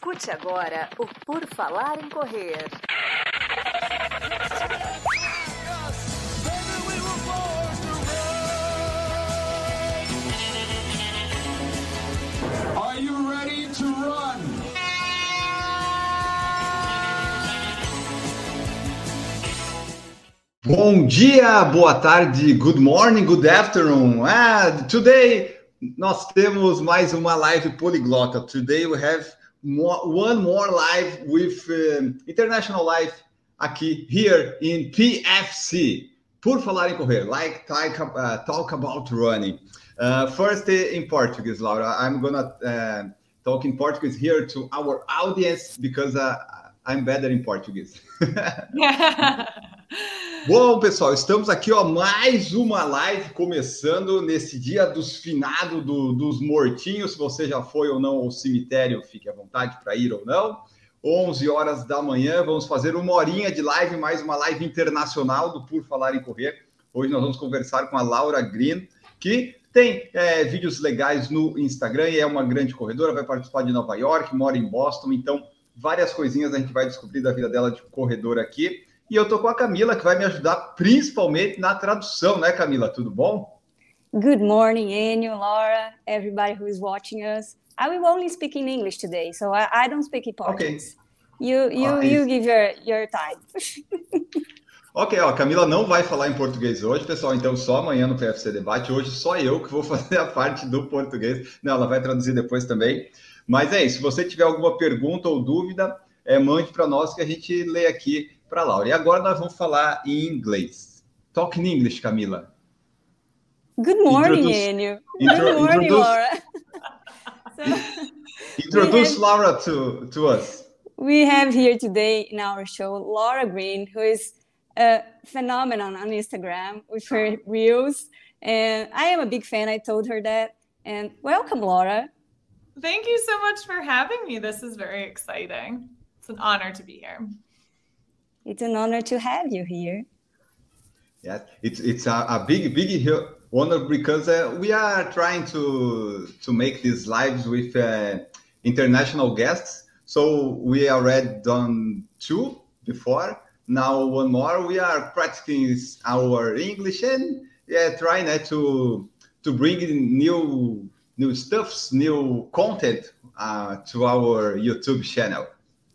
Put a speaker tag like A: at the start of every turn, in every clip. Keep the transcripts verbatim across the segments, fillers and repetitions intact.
A: Escute agora o Por Falar em Correr.
B: Are you ready to run?
C: Bom dia, boa tarde, good morning, good afternoon. Ah, today nós temos mais uma live poliglota. Today we have more, one more live with um, international live aqui here in P F C. Por falar em correr, like talk, uh, talk about running. Uh, first in Portuguese, Laura. I'm gonna uh, talk in Portuguese here to our audience because uh, I'm better in Portuguese. Bom, pessoal, estamos aqui, ó, mais uma live começando nesse dia dos finados, do, dos mortinhos. Se você já foi ou não ao cemitério, fique à vontade para ir ou não. onze horas da manhã, vamos fazer uma horinha de live, mais uma live internacional do Por Falar em Correr. Hoje nós vamos conversar com a Laura Green, que tem é, vídeos legais no Instagram e é uma grande corredora, vai participar de Nova York, mora em Boston, então várias coisinhas a gente vai descobrir da vida dela de corredora aqui. E eu tô com a Camila, que vai me ajudar principalmente na tradução, né, Camila? Tudo bom?
D: Good morning, Enio, Laura, everybody who is watching us. I will only speak in English today, so I, I don't speak in Portuguese. Okay. You, you, ah, you give your, your time.
C: Ok, ó, a Camila não vai falar em português hoje, pessoal, então só amanhã no P F C Debate. Hoje só eu que vou fazer a parte do português. Não, ela vai traduzir depois também. Mas é isso, se você tiver alguma pergunta ou dúvida, é, mande para nós que a gente lê aqui para a Laura. E agora nós vamos falar em inglês. Talk in English, Camila.
D: Good morning, Enio. Good morning, introduce, Laura.
C: so, introduce have, Laura to, to us.
D: We have here today in our show Laura Green, who is a phenomenon on Instagram with her reels. And I am a big fan. I told her that. And welcome, Laura.
E: Thank you so much for having me. This is very exciting. It's an honor to be here.
D: It's an honor to have you here.
C: Yeah, it's it's a, a big big honor because uh, we are trying to to make these lives with uh, international guests. So we already done two before. Now one more. We are practicing our English and yeah, trying uh, to to bring in new new stuffs, new content uh, to our YouTube channel.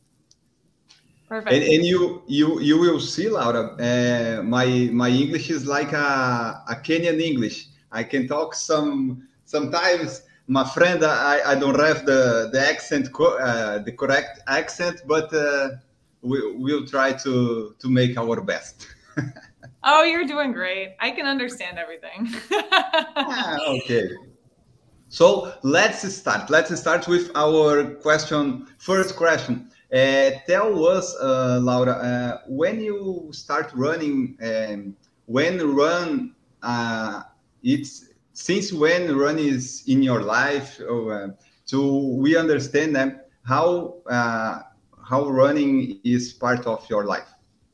E: Perfect.
C: And, and you you you will see, Laura, uh, my my English is like a, a Kenyan English. I can talk some sometimes. My friend, I, I don't have the the accent, uh, the correct accent, but uh, we we'll try to to make our best.
E: Oh, you're doing great. I can understand everything.
C: ah, okay. So let's start. Let's start with our question. First question. Uh, tell us, uh, Laura, uh, when you start running, um, when run, uh, it's since when run is in your life, or, uh, so we understand them how uh, how running is part of your life.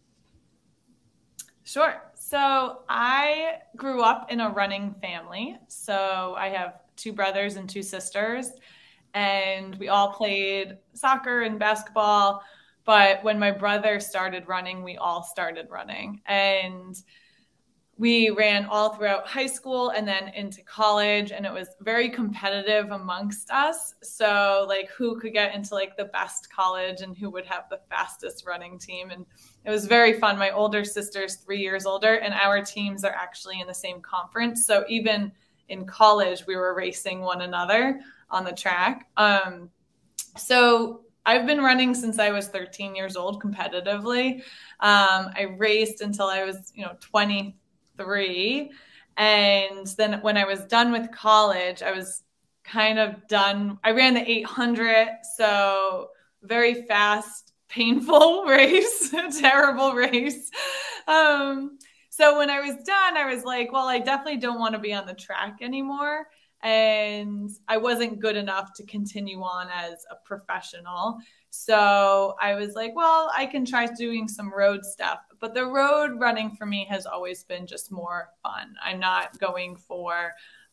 E: Sure. So I grew up in a running family. So I have two brothers and two sisters. And we all played soccer and basketball. But when my brother started running, we all started running. And we ran all throughout high school and then into college. And it was very competitive amongst us. So like who could get into like the best college and who would have the fastest running team. And it was very fun. My older sister's three years older and our teams are actually in the same conference. So even in college, we were racing one another on the track. Um, so I've been running since I was thirteen years old competitively. Um, I raced until I was, you know, twenty-three. And then when I was done with college, I was kind of done. I ran the eight hundred. So very fast, painful race, a terrible race. Um, so when I was done, I was like, well, I definitely don't want to be on the track anymore. And I wasn't good enough to continue on as a professional. So I was like, well, I can try doing some road stuff. But the road running for me has always been just more fun. I'm not going for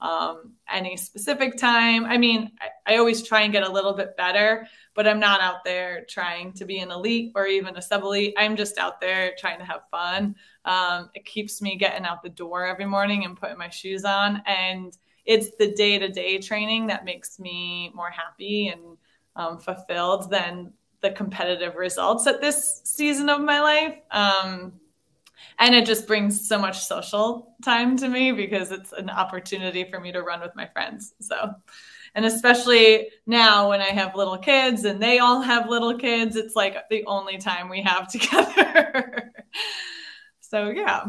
E: um, any specific time. I mean, I, I always try and get a little bit better, but I'm not out there trying to be an elite or even a sub-elite. I'm just out there trying to have fun. Um, it keeps me getting out the door every morning and putting my shoes on. And it's the day-to-day training that makes me more happy and um, fulfilled than the competitive results at this season of my life. Um, and it just brings so much social time to me because it's an opportunity for me to run with my friends. So, and especially now when I have little kids and they all have little kids, it's like the only time we have together. So, yeah.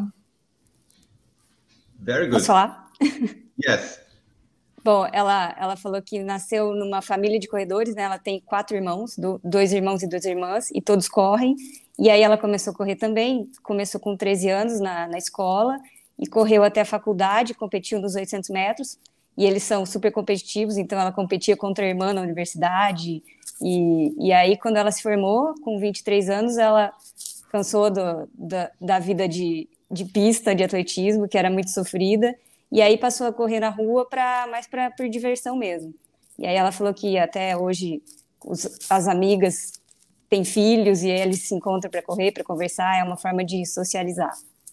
C: Very good.
D: Posso falar?
C: Yes.
D: Bom, ela, ela falou que nasceu numa família de corredores, né? Ela tem quatro irmãos, do, dois irmãos e duas irmãs, e todos correm. E aí ela começou a correr também, começou com treze anos na, na escola, e correu até a faculdade, competiu nos oitocentos metros, e eles são super competitivos, então ela competia contra a irmã na universidade, e, e aí quando ela se formou, com vinte e três anos, ela cansou do, da, da vida de, de pista, de atletismo, que era muito sofrida, e aí passou a correr na rua pra, mais pra, por diversão mesmo. E aí ela falou que até hoje os, as amigas têm filhos e eles se encontram para correr, para conversar, é uma forma de socializar.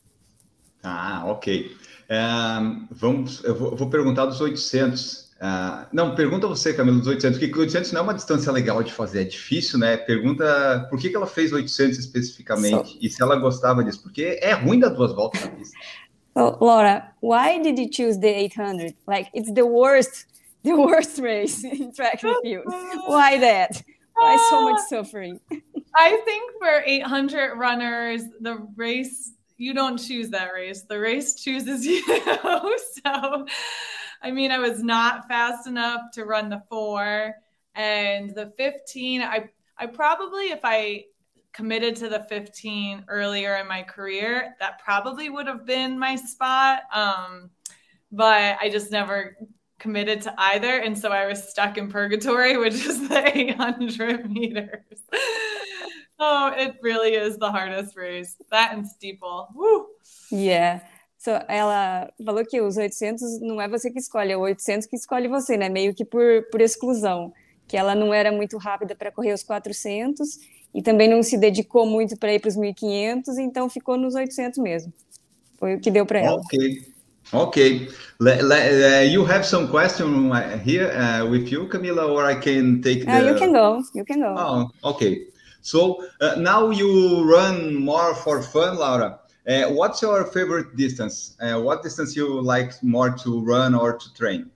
C: Ah, ok. Um, vamos, eu vou, vou perguntar dos oitocentos. Uh, não, pergunta você, Camila, dos oitocentos, porque oitocentos não é uma distância legal de fazer, é difícil, né? Pergunta por que, que ela fez oitocentos especificamente, so, e se ela gostava disso, porque é ruim dar duas voltas na pista.
D: So, Laura, why did you choose the eight hundred? Like, it's the worst, the worst race in track and field. Why that? Why so much suffering?
E: I think for eight hundred runners, the race, you don't choose that race. The race chooses you. So, I mean, I was not fast enough to run the four, and the fifteen, I, I probably, if I committed to the fifteen earlier in my career, that probably would have been my spot. Um, but I just never committed to either. And so I was stuck in purgatory, which is the eight hundred meters. Oh, it really is the hardest race. That and steeple. Woo!
D: Yeah. So, ela falou que os oitocentos não é você que escolhe, é o oitocentos que escolhe você, né? Meio que por, por exclusão. Que ela não era muito rápida para correr os quatrocentos e também não se dedicou muito para ir para os mil e quinhentos, então ficou nos oitocentos mesmo. Foi o que deu para ela.
C: Ok. Okay, le, le, uh, you have some question here uh, with you, Camila, or I can take the...
D: Uh, you can go, you can go.
C: Oh, okay. So uh, now you run more for fun, Laura. Uh, what's your favorite distance? Uh, what distance you like more to run or to train?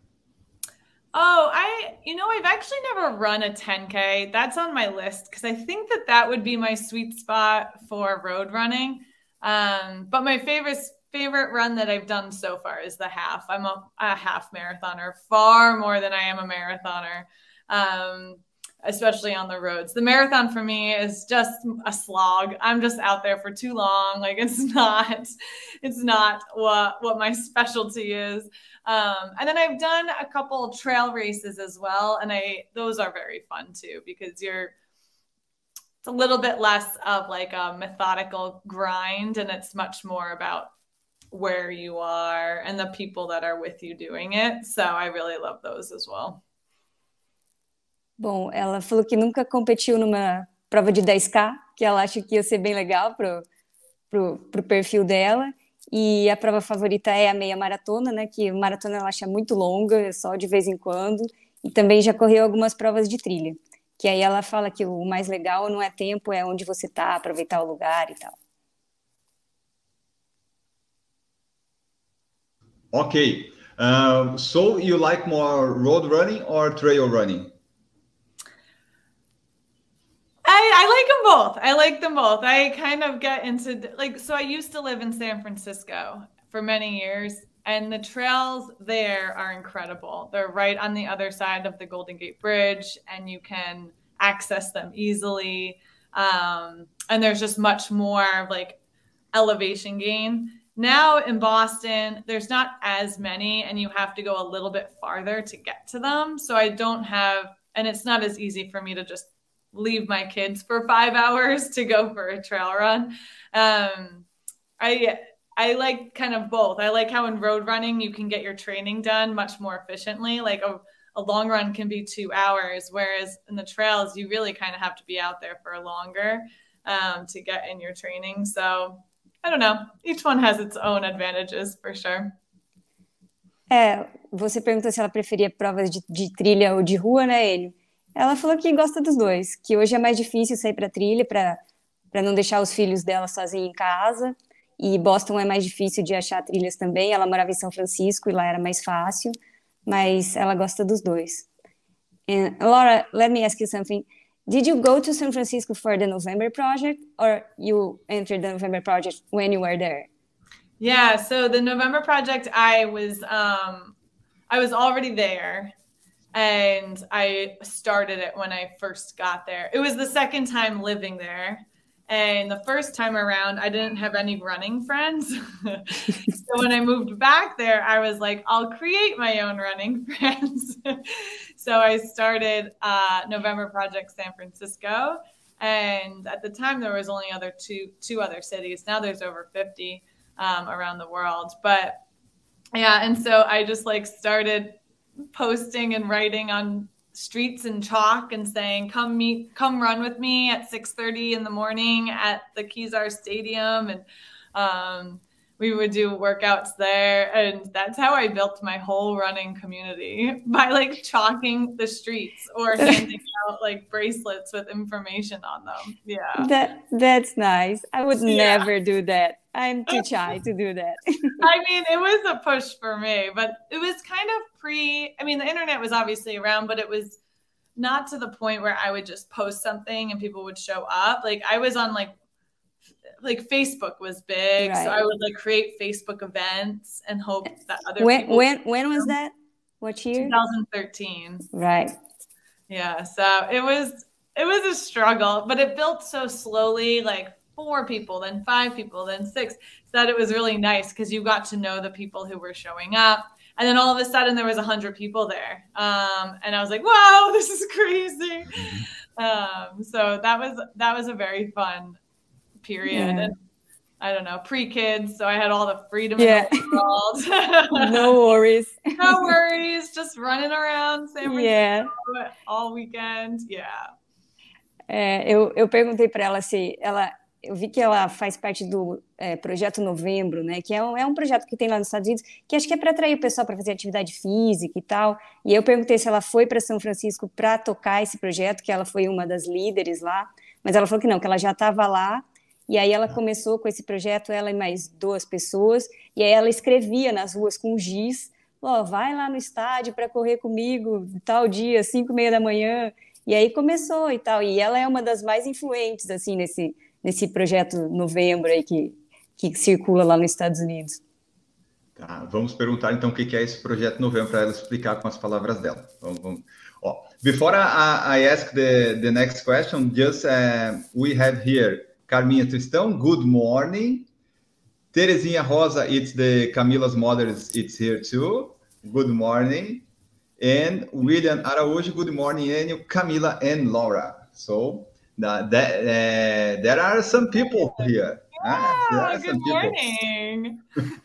E: Oh, I, you know, I've actually never run a ten K. That's on my list because I think that that would be my sweet spot for road running. Um, but my favorite favorite run that I've done so far is the half. I'm a, a half marathoner, far more than I am a marathoner, um, especially on the roads. The marathon for me is just a slog. I'm just out there for too long. Like it's not, it's not what, what my specialty is. Um, and then I've done a couple trail races as well. And I, those are very fun too, because you're, it's a little bit less of like a methodical grind and it's much more about where you are and the people that are with you doing it. So I really love those as well.
D: Bom, ela falou que nunca competiu numa prova de dez K, que ela acha que ia ser bem legal pro, pro, pro perfil dela. E a prova favorita é a meia maratona, né? Que maratona ela acha muito longa, só de vez em quando. E também já correu algumas provas de trilha. Que aí ela fala que o mais legal não é tempo, é onde você tá, aproveitar o lugar e tal.
C: Okay, uh, so you like more road running or trail running?
E: I, I like them both. I like them both. I kind of get into like, so I used to live in San Francisco for many years and the trails there are incredible. They're right on the other side of the Golden Gate Bridge and you can access them easily. Um, and there's just much more like elevation gain. Now in Boston, there's not as many and you have to go a little bit farther to get to them. So I don't have, and it's not as easy for me to just leave my kids for five hours to go for a trail run. Um, I, I like kind of both. I like how in road running, you can get your training done much more efficiently. Like a, a long run can be two hours, whereas in the trails, you really kind of have to be out there for longer um, to get in your training. So I don't know. Each one has its own advantages for sure.
D: É, você perguntou se ela preferia provas de, de trilha ou de rua, né, Enio? Ela falou que gosta dos dois, que hoje é mais difícil sair para trilha para para não deixar os filhos dela sozinhos em casa. E Boston é mais difícil de achar trilhas também. Ela morava em São Francisco e lá era mais fácil, mas ela gosta dos dois. And Laura, let me ask you something. Did you go to San Francisco for the November project, or you entered the November project when you were there?
E: Yeah, so the November project, I was um, I was already there, and I started it when I first got there. It was the second time living there. And the first time around, I didn't have any running friends. So when I moved back there, I was like, I'll create my own running friends. So I started uh, November Project San Francisco. And at the time, there was only other two, two other cities. Now there's over fifty um, around the world. But yeah, and so I just like started posting and writing on streets in chalk and saying, come meet, come run with me at six thirty in the morning at the Kezar Stadium. And um, we would do workouts there. And that's how I built my whole running community, by like chalking the streets or handing out like bracelets with information on them. Yeah.
D: That That's nice. I would
E: Yeah.
D: never do that. I'm too shy to do that.
E: I mean, it was a push for me, but it was kind of pre, I mean, the internet was obviously around, but it was not to the point where I would just post something and people would show up. Like I was on like, like Facebook was big.
D: Right.
E: So I would like create Facebook events and hope that other
D: When
E: people.
D: when when was that? What year?
E: twenty thirteen.
D: Right.
E: Yeah. So it was, it was a struggle, but it built so slowly, like four people, then five people, then six, so that it was really nice because you got to know the people who were showing up. And then all of a sudden there was a hundred people there. Um, and I was like, wow, this is crazy. Um, so that was, that was a very fun period.
D: Yeah.
E: And I don't know, pre-kids. So I had all the freedom
D: Yeah.
E: in the world.
D: No worries.
E: No worries. Just running around San Francisco
D: Yeah.
E: all weekend. Yeah.
D: É, eu, eu perguntei para ela se ela, eu vi que ela faz parte do é, Projeto Novembro, né? Que é um, é um projeto que tem lá nos Estados Unidos, que acho que é para atrair o pessoal para fazer atividade física e tal. E eu perguntei se ela foi para São Francisco para tocar esse projeto, que ela foi uma das líderes lá, mas ela falou que não, que ela já estava lá. E aí ela começou com esse projeto, ela e mais duas pessoas, e aí ela escrevia nas ruas com giz, ó, oh, vai lá no estádio para correr comigo tal dia, cinco e meia da manhã. E aí começou e tal. E ela é uma das mais influentes, assim, nesse, nesse projeto Novembro aí que, que circula lá nos Estados Unidos.
C: Tá, vamos perguntar então o que é esse projeto Novembro para ela explicar com as palavras dela. Vamos, vamos. Oh, before I, I ask the, the next question, just uh, we have here Carminha Tristão, good morning. Terezinha Rosa, it's the Camila's mother, it's here too. Good morning. And William Araújo, good morning, Enio, Camila, and Laura. So that, that uh, there are some people here.
E: Yeah,
C: ah,
E: good morning.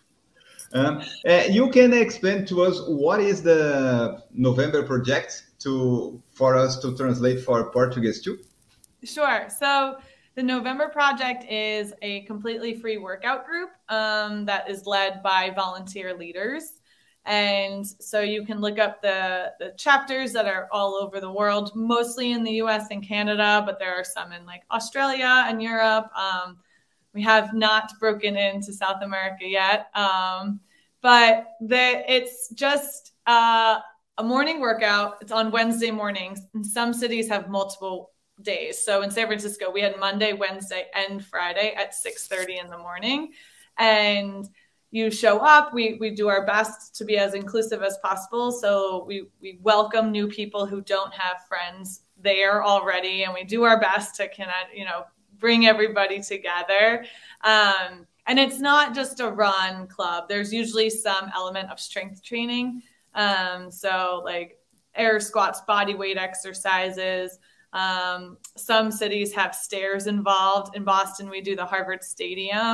C: um, uh, you can explain to us what is the November project to for us to translate for Portuguese too?
E: Sure. So the November Project is a completely free workout group um, that is led by volunteer leaders. And so you can look up the, the chapters that are all over the world, mostly in the U S and Canada, but there are some in like Australia and Europe. Um, we have not broken into South America yet. Um, but the, it's just uh, a morning workout. It's on Wednesday mornings. And some cities have multiple days. So in San Francisco, we had Monday, Wednesday, and Friday at six thirty in the morning. And you show up, we we do our best to be as inclusive as possible. So we, we welcome new people who don't have friends there already. And we do our best to kind of, you know, bring everybody together. Um, and it's not just a run club. There's usually some element of strength training. Um, so like air squats, body weight exercises. Um, some cities have stairs involved. In Boston, we do the Harvard Stadium.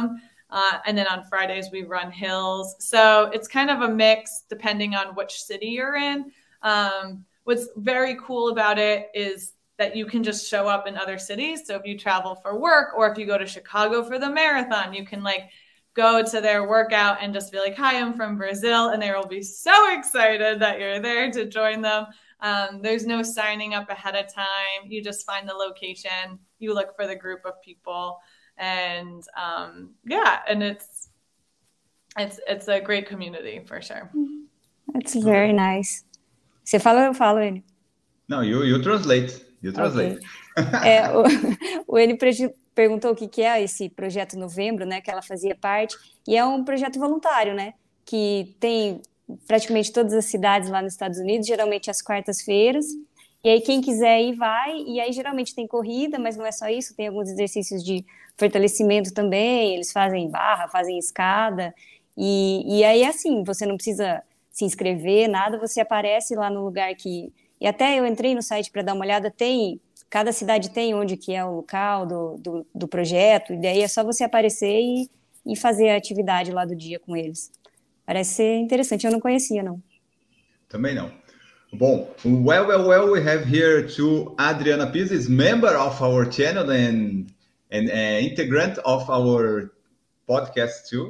E: Uh, and then on Fridays, we run hills. So it's kind of a mix depending on which city you're in. Um, what's very cool about it is that you can just show up in other cities. So if you travel for work or if you go to Chicago for the marathon, you can like go to their workout and just be like, hi, I'm from Brazil. And they will be so excited that you're there to join them. Um, there's no signing up ahead of time. You just find the location, you look for the group of people. And um, yeah, and it's it's it's a great community for sure.
D: That's very nice. Você fala ou eu falo, Enio?
C: No, you you translate. You translate.
D: Okay. é, o, o Enio perguntou o que, que é esse projeto Novembro, né? Que ela fazia parte. E é um projeto voluntário, né? Que tem praticamente todas as cidades lá nos Estados Unidos, geralmente às quartas-feiras. E aí quem quiser ir vai, e aí geralmente tem corrida, mas não é só isso, tem alguns exercícios de fortalecimento também, eles fazem barra, fazem escada, e, e aí assim, você não precisa se inscrever, nada, você aparece lá no lugar que... E até eu entrei no site para dar uma olhada, tem... Cada cidade tem onde que é o local do, do, do projeto, e daí é só você aparecer e, e fazer a atividade lá do dia com eles. Parece ser interessante, eu não conhecia, não.
C: Também não. Bom, well, well, well, we have here to Adriana Pizes, member of our channel and and uh, integrant of our podcast too.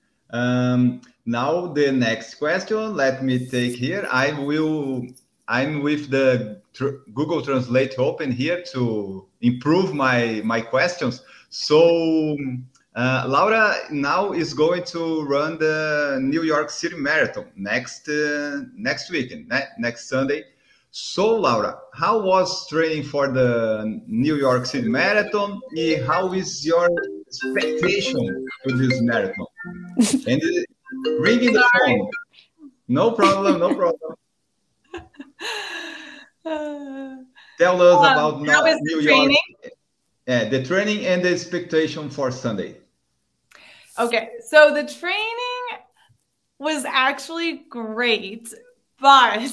C: Um, now the next question, let me take here. I will, I'm with the tr Google Translate open here to improve my my questions. So uh, Laura now is going to run the New York City Marathon next uh, next weekend, ne next Sunday. So Laura, how was training for the New York City Marathon? And how is your expectation to this marathon? And ringing the phone. No problem, no problem. Tell us um, about
E: how is
C: New
E: the training?
C: York. Yeah, the training and the expectation for Sunday.
E: Okay, so the training was actually great, but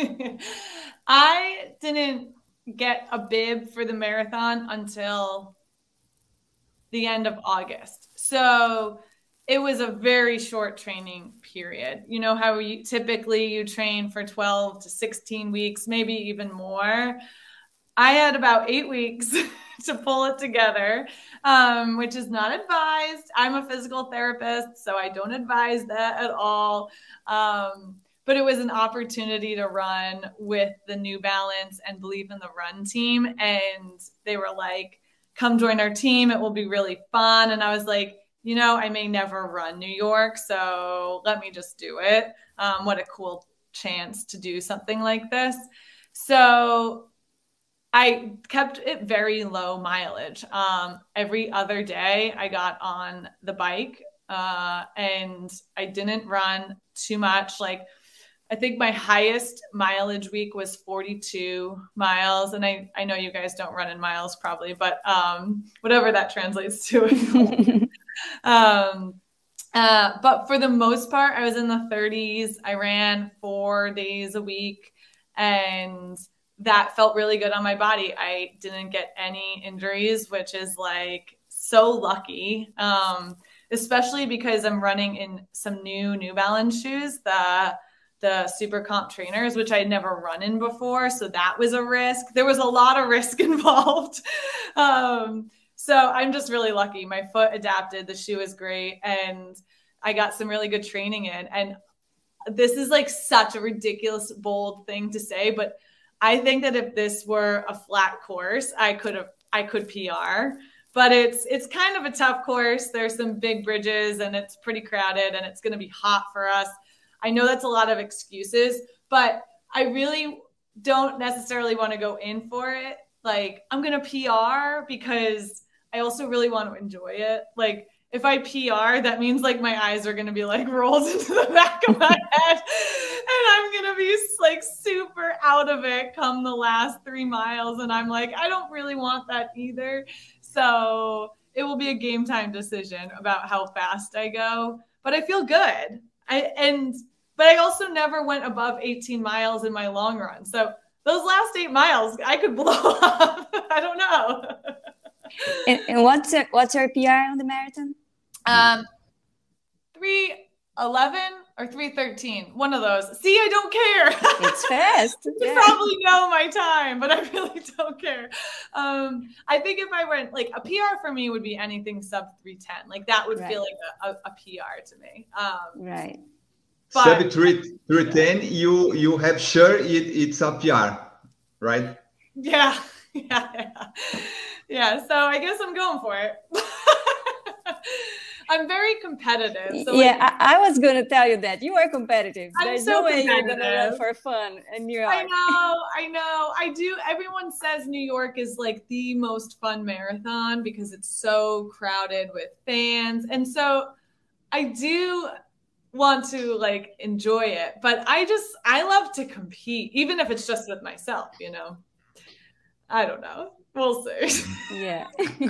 E: I didn't get a bib for the marathon until the end of August. So it was a very short training period. You know how you, typically you train for twelve to sixteen weeks, maybe even more. I had about eight weeks to pull it together, um, which is not advised. I'm a physical therapist, so I don't advise that at all. Um, but it was an opportunity to run with the New Balance and Believe in the Run team. And they were like, come join our team. It will be really fun. And I was like, you know, I may never run New York, so let me just do it. Um, what a cool chance to do something like this. So I kept it very low mileage. Um, every other day I got on the bike uh, and I didn't run too much. Like I think my highest mileage week was forty-two miles. And I, I know you guys don't run in miles probably, but um, whatever that translates to. um, uh, but for the most part, I was in the thirties. I ran four days a week and that felt really good on my body. I didn't get any injuries, which is like so lucky, um, especially because I'm running in some new New Balance shoes, the, the Super Comp trainers, which I'd never run in before. So that was a risk. There was a lot of risk involved. um, so I'm just really lucky. My foot adapted. The shoe is great. And I got some really good training in. And this is like such a ridiculous, bold thing to say, but I think that if this were a flat course, I could have, I could P R, but it's, it's kind of a tough course. There's some big bridges and it's pretty crowded and it's going to be hot for us. I know that's a lot of excuses, but I really don't necessarily want to go in for it. Like I'm going to P R because I also really want to enjoy it. Like if I P R, that means like my eyes are going to be like rolled into the back of my head and I'm going to be like super out of it come the last three miles. And I'm like, I don't really want that either. So it will be a game time decision about how fast I go, but I feel good. I, and, but I also never went above eighteen miles in my long run. So those last eight miles, I could blow up. I don't know.
D: and, and what's, your, what's your P R on the marathon?
E: Um, three eleven or three thirteen. One of those. See, I don't care.
D: It's fast.
E: You
D: Yeah.
E: probably know my time, but I really don't care. Um, I think if I went like a P R for me would be anything sub three ten. Like that would
D: Right.
E: feel like a, a, a P R to me. Um,
D: Right.
E: but
C: Sub three three ten, you you have sure it, it's a P R, right?
E: yeah, yeah, yeah, yeah. So I guess I'm going for it. I'm very competitive. So
D: yeah,
E: like,
D: I, I was going to tell you that you are competitive.
E: I'm
D: There's
E: so
D: no way you're going to
E: competitive.
D: run for fun in New York.
E: I know, I know. I do. Everyone says New York is like the most fun marathon because it's so crowded with fans. And so I do want to like enjoy it, but I just, I love to compete, even if it's just with myself, you know? I don't know. We'll see.
D: Yeah.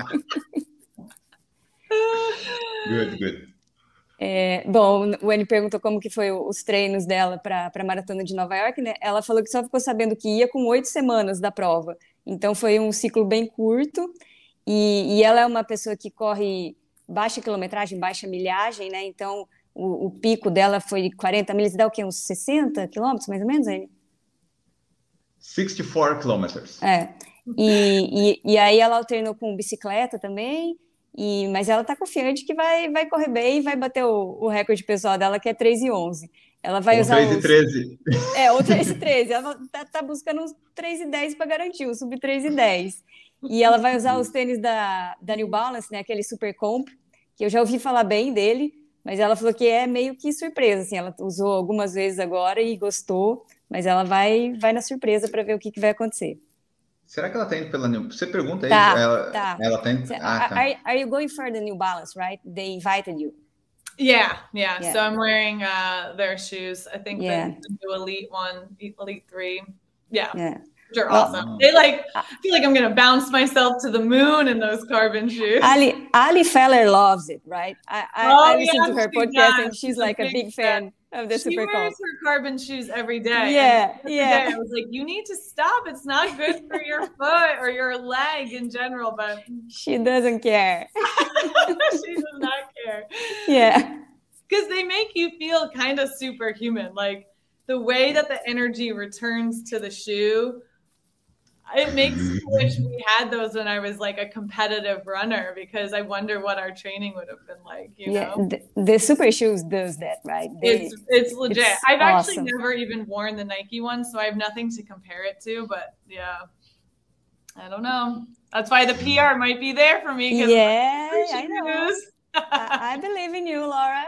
C: Good, good.
D: É, bom, o Annie perguntou como que foi os treinos dela para a Maratona de Nova York, né? Ela falou que só ficou sabendo que ia com oito semanas da prova. Então foi um ciclo bem curto e, e ela é uma pessoa que corre baixa quilometragem, baixa milhagem, né? Então o, o pico dela foi quarenta milhas, dá o quê? Uns sessenta quilômetros, mais ou menos, Annie?
C: sixty e quatro kilometers.
D: É. E, e, e aí ela alternou com bicicleta também. E, mas ela está confiante que vai, vai correr bem e vai bater o, o recorde pessoal dela, que é três e onze. Ela vai
C: Ou
D: usar
C: três e
D: os...
C: treze.
D: É, ou três e treze. Ela tá, tá buscando uns três e dez para garantir, o sub três e dez. E ela vai usar os tênis da, da New Balance, né, aquele Super Comp, que eu já ouvi falar bem dele, mas ela falou que é meio que surpresa, assim, ela usou algumas vezes agora e gostou, mas ela vai, vai na surpresa para ver o que, que vai acontecer.
C: Será que ela tá indo pela New... Você pergunta aí.
D: Tá,
C: ela,
D: tá.
C: ela tá indo... Ah, tá.
D: Are, are you going for the New Balance, right? They invited you.
E: Yeah, yeah,
D: Yeah.
E: So I'm wearing uh, their shoes. I think
D: Yeah.
E: the, the new Elite one, Elite three. Yeah,
D: Yeah.
E: which are
D: Well,
E: awesome. They like, I feel like I'm gonna bounce myself to the moon in those carbon shoes.
D: Ali, Ali Feller loves it, right? I, I,
E: Oh,
D: I listen
E: yeah,
D: to her
E: she
D: podcast
E: does.
D: and she's
E: She's a
D: like a
E: big
D: big fan of the
E: She
D: Super
E: wears
D: Comp.
E: her carbon shoes every day.
D: Yeah,
E: And every
D: yeah.
E: day I was like, you need to stop. It's not good for your foot or your leg in general, but
D: She doesn't care.
E: she does not care.
D: Yeah.
E: Because they make you feel kind of superhuman. Like the way that the energy returns to the shoe, it makes me wish we had those when I was like a competitive runner, because I wonder what our training would have been like, you
D: Yeah,
E: know?
D: the, the Super Shoes does that, right? They,
E: It's it's legit.
D: it's
E: I've actually
D: awesome.
E: never even worn the Nike one, so I have nothing to compare it to. But yeah, I don't know. That's why the P R might be there for me. 'Cause
D: yeah,
E: my
D: I know.
E: shoes.
D: I, I believe in you, Laura.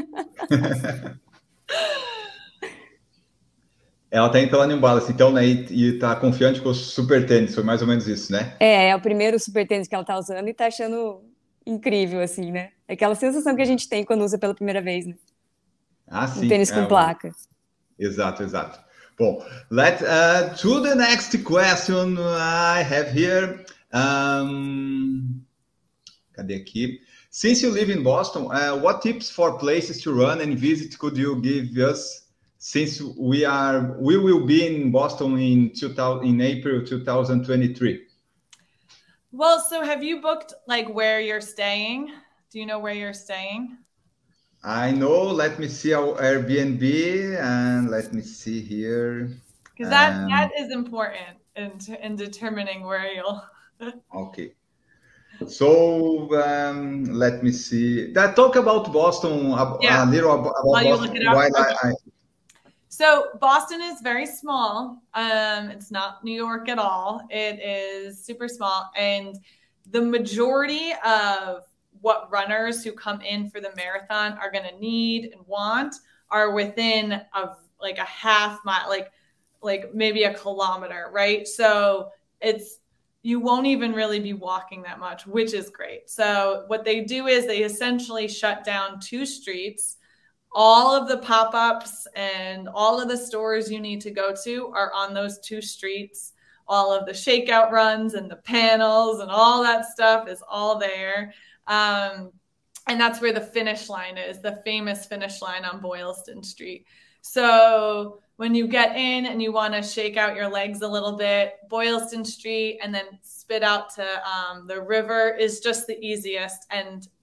C: Ela tá indo pela New Balance, então, né? E, e tá confiante com o super tênis, foi mais ou menos isso, né?
D: É, é o primeiro super tênis que ela tá usando e tá achando incrível, assim, né? É aquela sensação que a gente tem quando usa pela primeira vez, né?
C: Ah, sim.
D: Um tênis
C: é,
D: com placa.
C: Exato, exato. Bom, let's uh, to the next question I have here. Um, cadê aqui? Since you live in Boston, uh, what tips for places to run and visit could you give us? Since we are, we will be in Boston in two thousand, in April two thousand twenty-three.
E: Well, so have you booked like where you're staying? Do you know where you're staying?
C: I know. Let me see our Airbnb and let me see here.
E: Because that
C: Um,
E: that is important in in determining where you'll.
C: Okay. So um, let me see. That talk about Boston a,
E: Yeah.
C: a little about, about
E: While you
C: Boston.
E: look it up,
C: While
E: okay.
C: I, I,
E: So Boston is very small. Um, it's not New York at all. It is super small, and the majority of what runners who come in for the marathon are going to need and want are within of like a half mile, like like maybe a kilometer, right? So it's you won't even really be walking that much, which is great. So what they do is they essentially shut down two streets. All of the pop-ups and all of the stores you need to go to are on those two streets. All of the shakeout runs and the panels and all that stuff is all there. Um, and that's where the finish line is, the famous finish line on Boylston Street. So when you get in and you want to shake out your legs a little bit, Boylston Street and then spit out to um, the river is just the easiest. And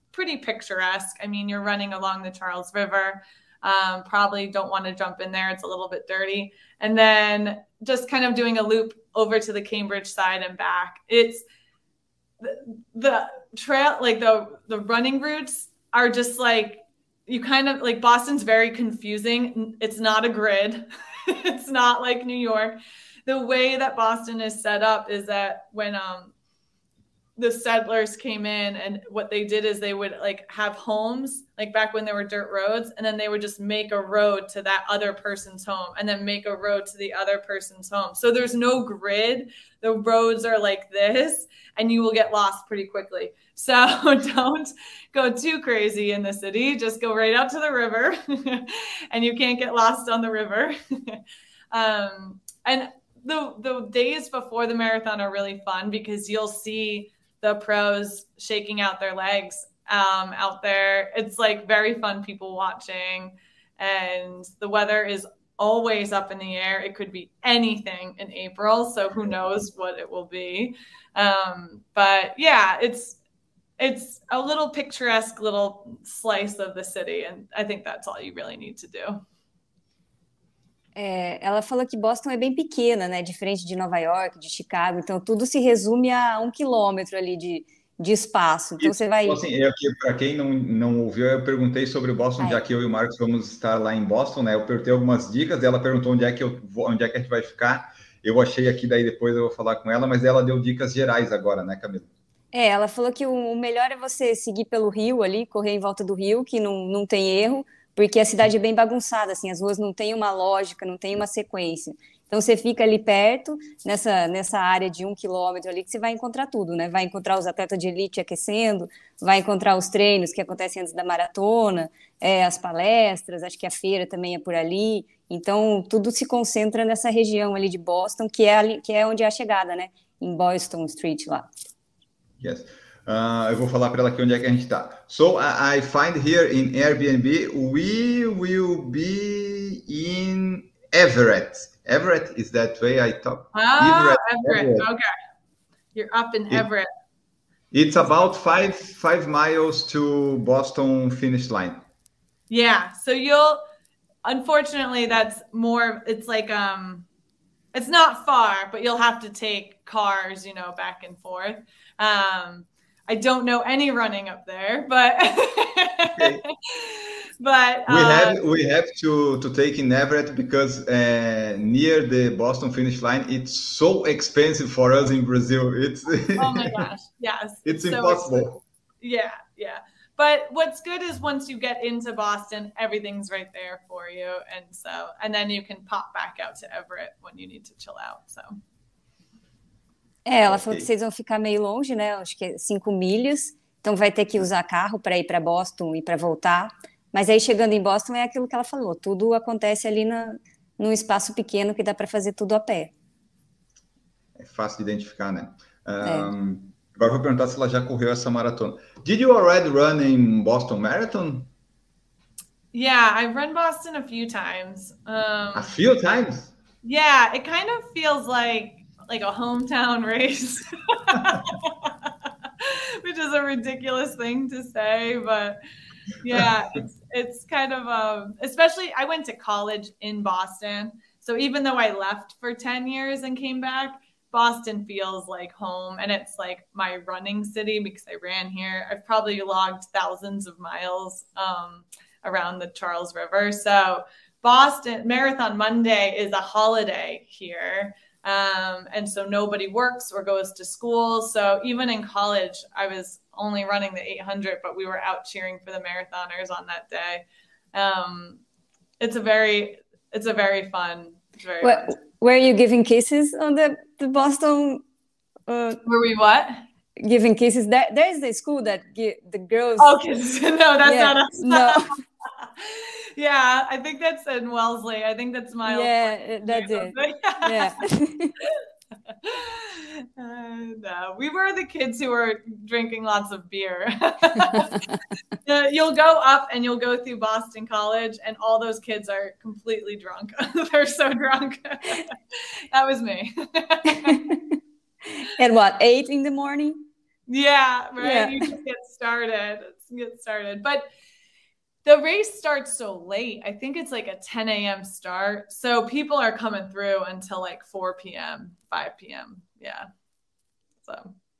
E: pretty picturesque. I mean, you're running along the Charles River. Um, probably don't want to jump in there. It's a little bit dirty. And then just kind of doing a loop over to the Cambridge side and back. It's the, the trail, like the, the running routes are just like, you kind of like, Boston's very confusing. It's not a grid. It's not like New York. The way that Boston is set up is that when, um, the settlers came in, and what they did is they would like have homes, like back when there were dirt roads, and then they would just make a road to that other person's home and then make a road to the other person's home. So there's no grid. The roads are like this, and you will get lost pretty quickly. So don't go too crazy in the city. Just go right out to the river and you can't get lost on the river. um, and the, the days before the marathon are really fun because you'll see the pros shaking out their legs um, out there. It's like very fun people watching, and the weather is always up in the air. It could be anything in April, so who knows what it will be. Um, but yeah, it's it's a little picturesque little slice of the city, and I think that's all you really need to do.
D: É, ela falou que Boston é bem pequena, né? Diferente de Nova York, de Chicago. Então, tudo se resume a um quilômetro ali de, de espaço. Então, você vai...
C: Assim, para quem não, não ouviu, eu perguntei sobre o Boston, ah, já é. que eu e o Marcos vamos estar lá em Boston, né? Eu perguntei algumas dicas, ela perguntou onde é que, eu, onde é que a gente vai ficar. Eu achei aqui, daí depois eu vou falar com ela, mas ela deu dicas gerais agora, né, Camila?
D: É, ela falou que o melhor é você seguir pelo rio ali, correr em volta do rio, que não, não tem erro, porque a cidade é bem bagunçada, assim, as ruas não têm uma lógica, não tem uma sequência. Então, você fica ali perto, nessa, nessa área de um quilômetro ali, que você vai encontrar tudo, né? Vai encontrar os atletas de elite aquecendo, vai encontrar os treinos que acontecem antes da maratona, é, as palestras, acho que a feira também é por ali. Então, tudo se concentra nessa região ali de Boston, que é, ali, que é onde é a chegada, né? Em Boylston Street, lá.
C: Yes. Uh, eu vou falar para ela aqui onde é que a gente está. So, I, I find here in Airbnb, we will be in Everett. Everett, is that way I talk?
E: Ah, Everett, Everett. Everett. Okay. You're up in
C: it,
E: Everett.
C: It's about five, five miles to Boston finish line.
E: Yeah, so you'll, unfortunately, that's more, it's like, um, it's not far, but you'll have to take cars, you know, back and forth. Um, I don't know any running up there, but
C: okay.
E: but
C: we
E: uh,
C: have we have to to take in Everett because uh, near the Boston finish line, it's so expensive for us in Brazil. It's
E: oh my gosh, yes,
C: it's
E: so
C: impossible.
E: Expensive. Yeah, yeah. But what's good is once you get into Boston, everything's right there for you, and so and then you can pop back out to Everett when you need to chill out. So.
D: É, ela falou que vocês vão ficar meio longe, né? Acho que é cinco milhas. Então vai ter que usar carro para ir para Boston e para voltar. Mas aí chegando em Boston é aquilo que ela falou. Tudo acontece ali na, num espaço pequeno que dá para fazer tudo a pé.
C: É fácil de identificar, né? Um,
D: é.
C: Agora eu vou perguntar se ela já correu essa maratona. Did you already run in Boston Marathon?
E: Yeah, I've run Boston a few times. Um,
C: a few times?
E: Yeah, it kind of feels like like a hometown race, which is a ridiculous thing to say, but yeah, it's, it's kind of, um, especially I went to college in Boston. So even though I left for ten years and came back, Boston feels like home, and it's like my running city because I ran here. I've probably logged thousands of miles um, around the Charles River. So Boston Marathon Monday is a holiday here. Um, and so nobody works or goes to school. So even in college, I was only running the eight hundred, but we were out cheering for the marathoners on that day. Um, it's a very, it's a very fun, very
D: well,
E: fun.
D: Were you giving kisses on the, the Boston? Uh,
E: were we what?
D: Giving kisses. There, there's the school that give the girls.
E: Oh, kisses. No, that's
D: yeah,
E: not us.
D: No.
E: Yeah, I think that's in Wellesley. I think that's Miles.
D: Yeah, that's it. Yeah.
E: uh, no, we were the kids who were drinking lots of beer. uh, you'll go up and you'll go through Boston College, and all those kids are completely drunk. They're so drunk. That was me.
D: At what, eight in the morning?
E: Yeah, right.
D: Yeah.
E: You just get started. get started. But the race starts so late. I think it's like a ten a.m. start. So people are coming through until like four p.m., five p.m. Yeah. So.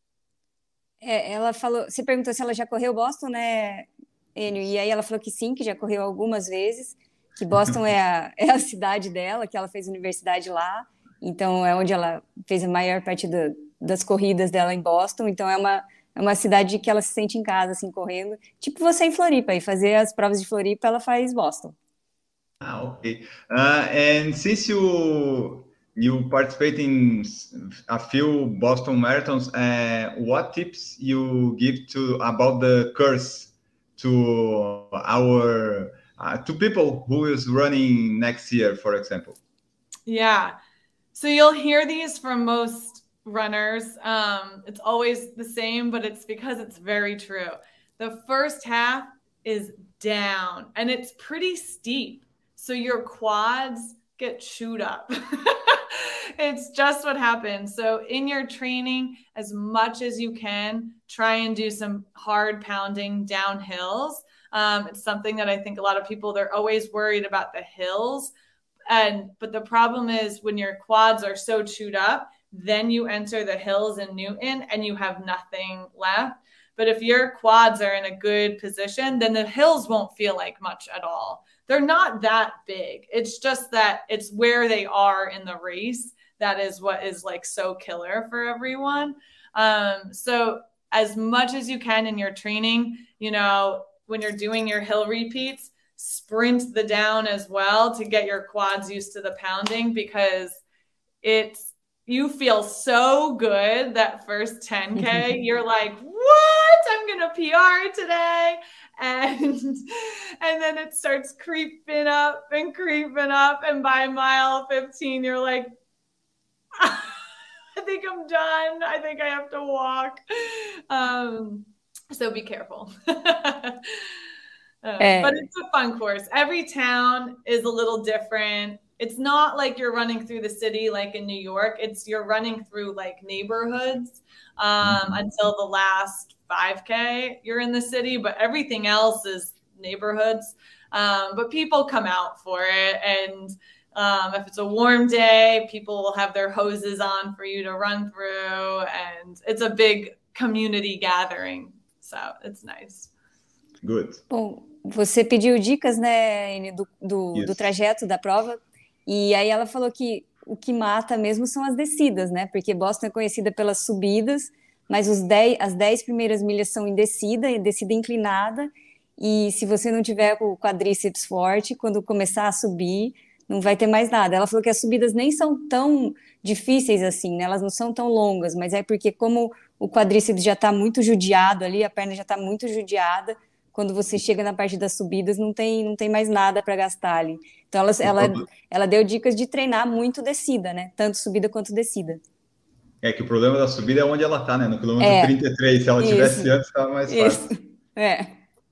D: É, ela falou, você perguntou se ela já correu Boston, né, Enio? E aí ela falou que sim, que já correu algumas vezes, que Boston é a, é a cidade dela, que ela fez universidade lá, então é onde ela fez a maior parte do, das corridas dela em Boston, então é uma, é uma cidade que ela se sente em casa, assim, correndo, tipo você em Floripa, e fazer as provas de Floripa, ela faz Boston.
C: Ah, okay. Uh, and since you you participate in a few Boston marathons, uh, what tips you give to about the course to our uh, to people who is running next year, for example?
E: Yeah, so you'll hear these from most runners. Um, it's always the same, but it's because it's very true. The first half is down, and it's pretty steep, so your quads get chewed up. It's just what happens. So in your training, as much as you can, try and do some hard pounding down hills. Um, it's something that I think a lot of people, they're always worried about the hills. And, but the problem is when your quads are so chewed up, then you enter the hills in Newton and you have nothing left. But if your quads are in a good position, then the hills won't feel like much at all. They're not that big. It's just that it's where they are in the race. That is what is like so killer for everyone. Um, so as much as you can in your training, you know, when you're doing your hill repeats, sprint the down as well to get your quads used to the pounding, because it's, you feel so good that first ten K. You're like, what? I'm going to P R today. And, and then it starts creeping up and creeping up. And by mile fifteen, you're like, I think I'm done. I think I have to walk. Um, so be careful. uh,
D: Hey.
E: But it's a fun course. Every town is a little different. It's not like you're running through the city like in New York. It's you're running through like neighborhoods um, mm-hmm. until the last five K. You're in the city, but everything else is neighborhoods. Um, but people come out for it. And um, if it's a warm day, people will have their hoses on for you to run through. And it's a big community gathering. So it's nice.
C: Good.
D: Bom, você pediu dicas, né, Enio, do, do, yes. do trajeto da prova. E aí ela falou que o que mata mesmo são as descidas, né? Porque Boston é conhecida pelas subidas, mas os dez, as dez primeiras milhas são em descida, descida inclinada. E se você não tiver o quadríceps forte, quando começar a subir, não vai ter mais nada. Ela falou que as subidas nem são tão difíceis assim, né? Elas não são tão longas, mas é porque como o quadríceps já está muito judiado ali, a perna já está muito judiada, quando você chega na parte das subidas, não tem, não tem mais nada para gastar ali. Então, ela, ela, ela deu dicas de treinar muito descida, né? Tanto subida quanto descida.
C: É que o problema da subida é onde ela está, né? No quilômetro é, trinta e três. Se ela isso, tivesse antes, estava mais fácil.
D: Isso. É.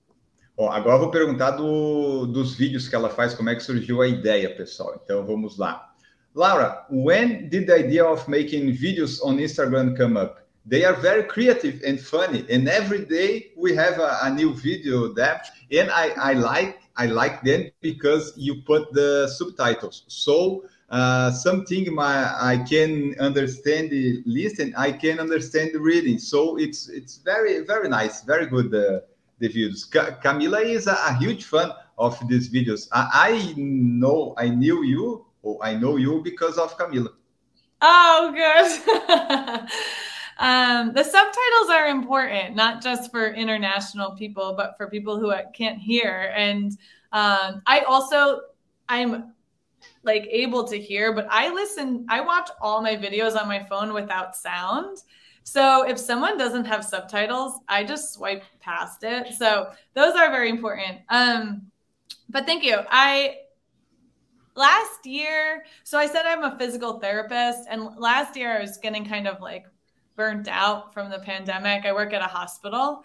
C: Ó, agora eu vou perguntar do, dos vídeos que ela faz, como é que surgiu a ideia, pessoal. Então, vamos lá. Laura, when did the idea of making videos on Instagram come up? They are very creative and funny, and every day we have a, a new video there. And I, I like I like them because you put the subtitles. So uh, something my I can understand the listen, I can understand the reading. So it's it's very very nice, very good uh, the videos. Ca Camila is a, a huge fan of these videos. I, I know I knew you, or I know you because of Camila.
E: Oh, good. Um, the subtitles are important, not just for international people, but for people who can't hear. And um, I also, I'm like able to hear, but I listen, I watch all my videos on my phone without sound. So if someone doesn't have subtitles, I just swipe past it. So those are very important. Um, but thank you. I, last year, so I said I'm a physical therapist, and last year I was getting kind of like burnt out from the pandemic. I work at a hospital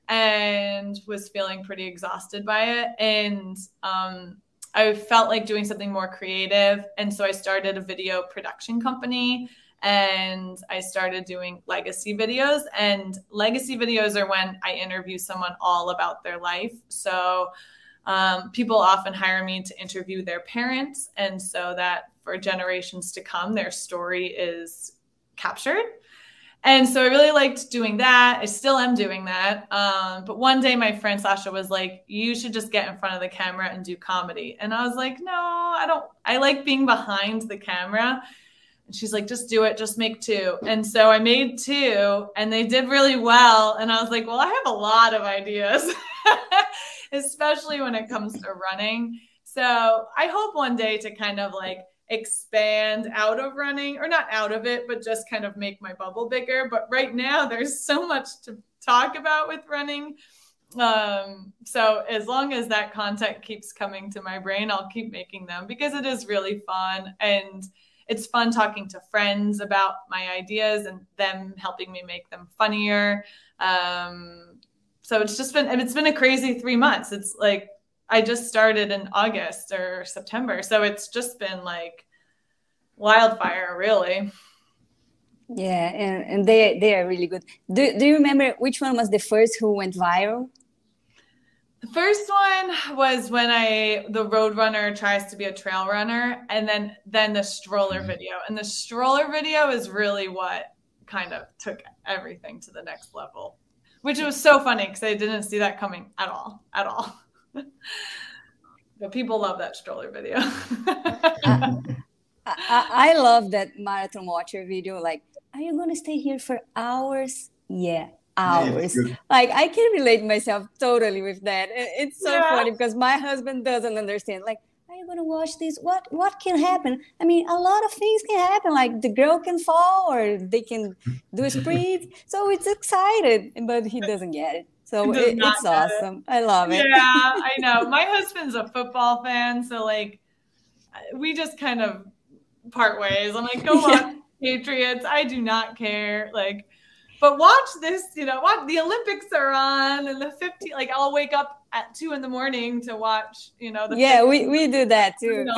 E: and was feeling pretty exhausted by it. And um, I felt like doing something more creative. And so I started a video production company. and I started doing legacy videos. And legacy videos are when I interview someone all about their life. So um, people often hire me to interview their parents, and so that for generations to come, their story is captured. And so I really liked doing that. I still am doing that. Um, but one day my friend Sasha was like, you should just get in front of the camera and do comedy. And I was like, no, I don't, I like being behind the camera. And she's like, just do it, just make two. And so I made two and they did really well. And I was like, well, I have a lot of ideas, especially when it comes to running. So I hope one day to kind of like expand out of running, or not out of it, but just kind of make my bubble bigger. But right now there's so much to talk about with running. Um, so as long as that content keeps coming to my brain, I'll keep making them, because it is really fun. And it's fun talking to friends about my ideas and them helping me make them funnier. Um, so it's just been, it's been a crazy three months. It's like, I just started in August or September. So it's just been like wildfire, really.
D: Yeah, and, and they they are really good. Do, do you remember which one was the first who went viral?
E: The first one was when I the road runner tries to be a trail runner, and then then the stroller video. And the stroller video is really what kind of took everything to the next level, which was so funny because I didn't see that coming at all, at all. But people love that stroller video.
D: I, I, I love that Marathon Watcher video. Like, are you going to stay here for hours? Yeah, hours. Like, I can relate myself totally with that. It's so yeah. funny because my husband doesn't understand. Like, are you going to watch this? What what can happen? I mean, a lot of things can happen. Like, the girl can fall, or they can do a sprint. So it's excited, but he doesn't get it. So it, it's awesome. It. I love it.
E: Yeah, I know. My husband's a football fan, so like we just kind of part ways. I'm like, go watch yeah. Patriots. I do not care. Like, but watch this. You know, watch the Olympics are on, and the fifty. Like, I'll wake up at two in the morning to watch. You know, the
D: yeah, we, we do that too.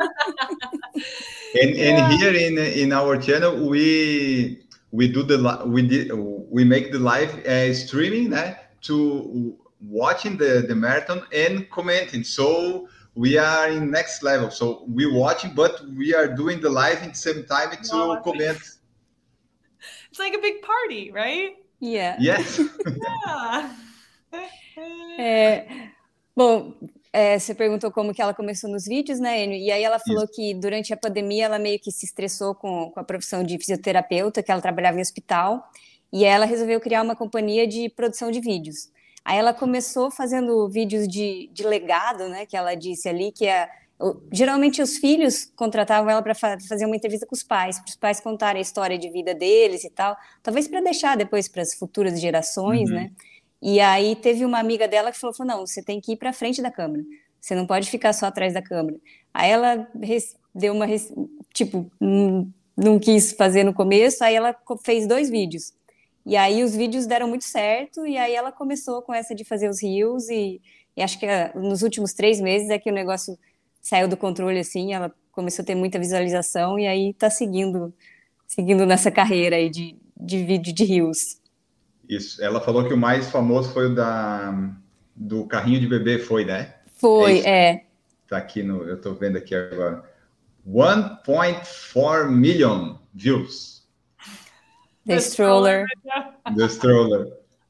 C: and yeah. and here in in our channel, we we do the we did we make the live uh, streaming that. To watching the, the marathon and commenting. So we are in next level. So we're watching, but we are doing the live at the same time to no, comment.
E: It's like a big party, right?
D: Yeah.
C: Yes.
E: Yeah.
D: é, bom, é, você perguntou como que ela começou nos vídeos, né, Enio? E aí ela falou Isso. que durante a pandemia ela meio que se estressou com, com a profissão de fisioterapeuta, que ela trabalhava em hospital. E ela resolveu criar uma companhia de produção de vídeos. Aí ela começou fazendo vídeos de, de legado, né? Que ela disse ali que é, geralmente os filhos contratavam ela para fa fazer uma entrevista com os pais, para os pais contarem a história de vida deles e tal, talvez para deixar depois para as futuras gerações, uhum. né? E aí teve uma amiga dela que falou, falou não, você tem que ir para frente da câmera, você não pode ficar só atrás da câmera. Aí ela deu uma, tipo, não quis fazer no começo, aí ela fez dois vídeos. E aí os vídeos deram muito certo, e aí ela começou com essa de fazer os reels, e, e acho que nos últimos três meses é que o negócio saiu do controle, assim, ela começou a ter muita visualização, e aí tá seguindo, seguindo nessa carreira aí de, de vídeo de reels.
C: Isso, ela falou que o mais famoso foi o da, do carrinho de bebê, foi, né?
D: Foi, é. é.
C: Tá aqui no, eu tô vendo aqui agora. one point four million views.
D: The, the stroller.
C: The stroller.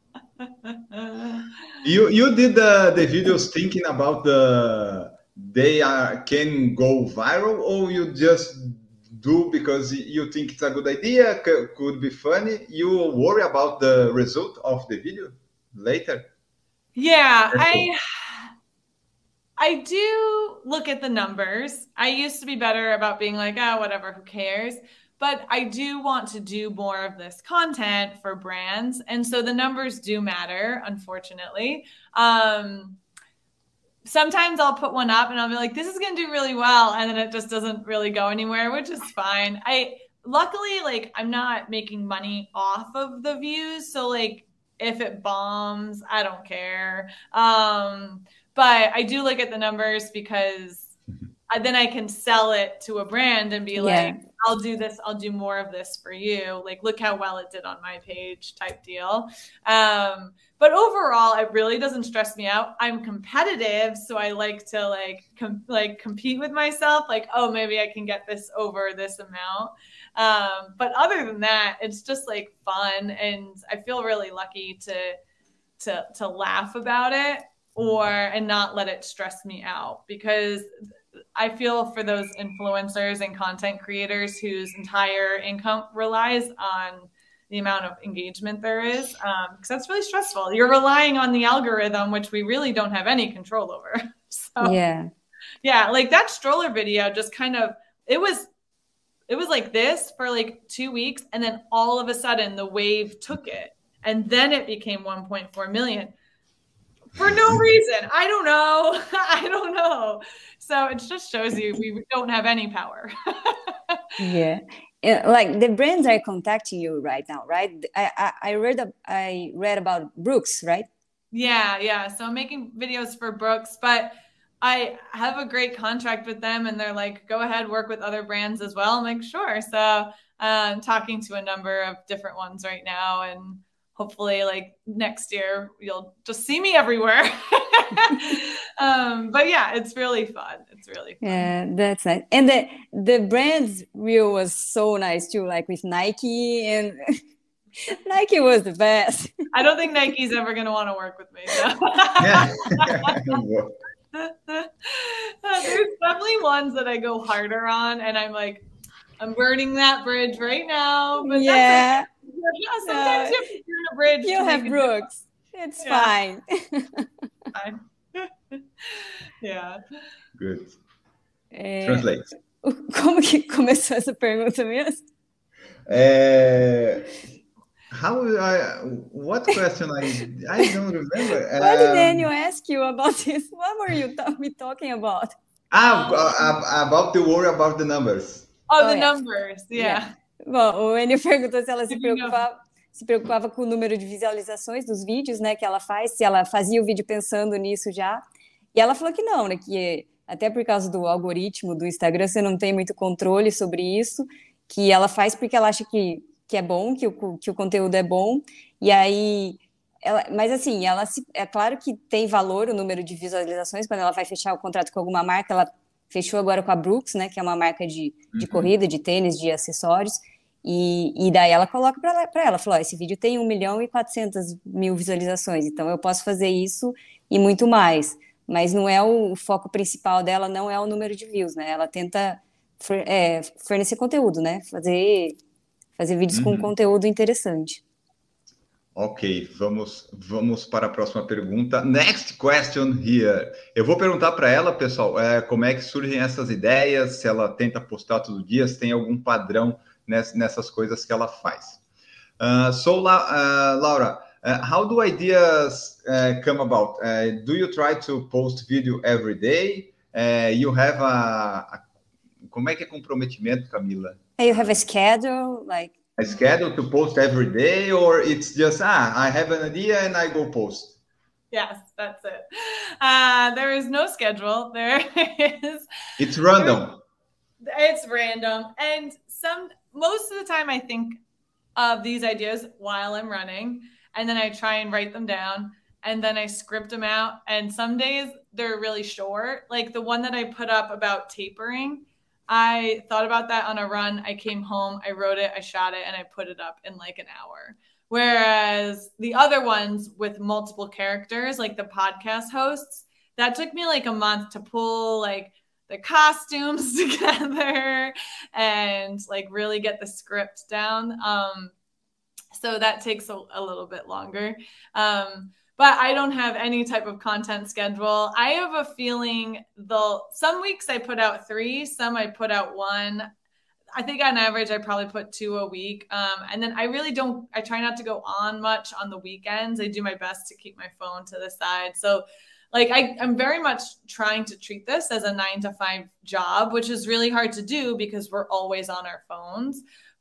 C: you you did the, the videos thinking about the they are can go viral, or you just do because you think it's a good idea, could be funny? You worry about the result of the video later?
E: Yeah, I I do look at the numbers. I used to be better about being like, oh, whatever, who cares? But I do want to do more of this content for brands. And so the numbers do matter, unfortunately. Um, sometimes I'll put one up and I'll be like, this is going to do really well. And then it just doesn't really go anywhere, which is fine. I luckily, like, I'm not making money off of the views. So like, if it bombs, I don't care. Um, but I do look at the numbers because I, then I can sell it to a brand and be
D: Yeah.
E: like, I'll do this. I'll do more of this for you. Like, look how well it did on my page type deal. Um, but overall, it really doesn't stress me out. I'm competitive. So I like to like, com- like compete with myself. Like, oh, maybe I can get this over this amount. Um, but other than that, it's just like fun. And I feel really lucky to, to, to laugh about it or, and not let it stress me out, because I feel for those influencers and content creators whose entire income relies on the amount of engagement there is, um, because that's really stressful. You're relying on the algorithm, which we really don't have any control over. So
D: Yeah.
E: yeah, like that stroller video just kind of, it was, it was like this for like two weeks. And then all of a sudden the wave took it. And then it became one point four million. For no reason. I don't know. I don't know. So it just shows you we don't have any power.
D: Yeah. Yeah, like the brands are contacting you right now, right? I, I, I read a, I read about Brooks, right?
E: Yeah, yeah. So I'm making videos for Brooks, but I have a great contract with them and they're like, go ahead, work with other brands as well. I'm like, sure. So I'm talking to a number of different ones right now, and hopefully like next year you'll just see me everywhere. um, but yeah, it's really fun. It's really fun.
D: Yeah, that's nice. And the the brand's reel was so nice too, like with Nike, and Nike was the best.
E: I don't think Nike's ever going to want to work with me. So.
C: Yeah.
E: There's definitely ones that I go harder on, and I'm like, I'm burning that bridge right now. But
D: Yeah.
E: that's like, yeah, sometimes
D: No,
E: you have to burn a bridge.
D: You
E: to
D: have
E: make a
D: Brooks. It's
E: Yeah.
D: fine.
E: difference. Yeah.
C: Good.
D: É,
C: Translate.
D: como que começou essa pergunta mesmo?
C: Uh, how I what question I I don't remember.
D: What did
C: Um,
D: Daniel ask you about this? What were you ta- we talking about?
C: ah, uh, about the worry about the numbers.
E: Oh,
D: Oh,
E: the
D: yeah.
E: numbers. Yeah.
D: Bom, o Enio perguntou se ela se
E: Did you know?
D: preocupava, se preocupava com o número de visualizações dos vídeos, né, que ela faz, se ela fazia o vídeo pensando nisso já. E ela falou que não, né, que até por causa do algoritmo do Instagram você não tem muito controle sobre isso, que ela faz porque ela acha que, que é bom, que o, que o conteúdo é bom, e aí... Ela, mas assim, ela se, é claro que tem valor o número de visualizações quando ela vai fechar o contrato com alguma marca. Ela fechou agora com a Brooks, né, que é uma marca de, de
C: Uhum.
D: corrida, de tênis, de acessórios, e, e daí ela coloca para ela, pra ela, falou, ó, esse vídeo tem um milhão e quatrocentas mil visualizações, então eu posso fazer isso e muito mais, mas não é o, o foco principal dela, não é o número de views, né, ela tenta for, é, fornecer conteúdo, né, fazer, fazer vídeos com
C: Uhum.
D: conteúdo interessante.
C: Ok, vamos, vamos para a próxima pergunta. Next question here. Eu vou perguntar para ela, pessoal, é, como é que surgem essas ideias, se ela tenta postar todo dia, se tem algum padrão ness, nessas coisas que ela faz. Uh, so, La, uh, Laura, uh, how do ideas uh, come about? Uh, do you try to post video every day? Uh, you have a, a... Como é que é comprometimento, Camila?
D: You have a schedule, like...
C: A schedule to post every day, or it's just, ah, I have an idea and I go post?
E: Yes, that's it. Uh, there is no schedule. There is.
C: It's random.
E: It's random. And some, most of the time I think of these ideas while I'm running, and then I try and write them down, and then I script them out. And some days they're really short. Like the one that I put up about tapering, I thought about that on a run. I came home, I wrote it, I shot it, and I put it up in like an hour. Whereas the other ones with multiple characters, like the podcast hosts, that took me like a month to pull like the costumes together and like really get the script down. Um, so that takes a, a little bit longer. Um, But I don't have any type of content schedule. I have a feeling they'll, some weeks I put out three, some I put out one. I think on average, I probably put two a week. Um, and then I really don't, I try not to go on much on the weekends. I do my best to keep my phone to the side. So like, I, I'm very much trying to treat this as a nine to five job, which is really hard to do because we're always on our phones.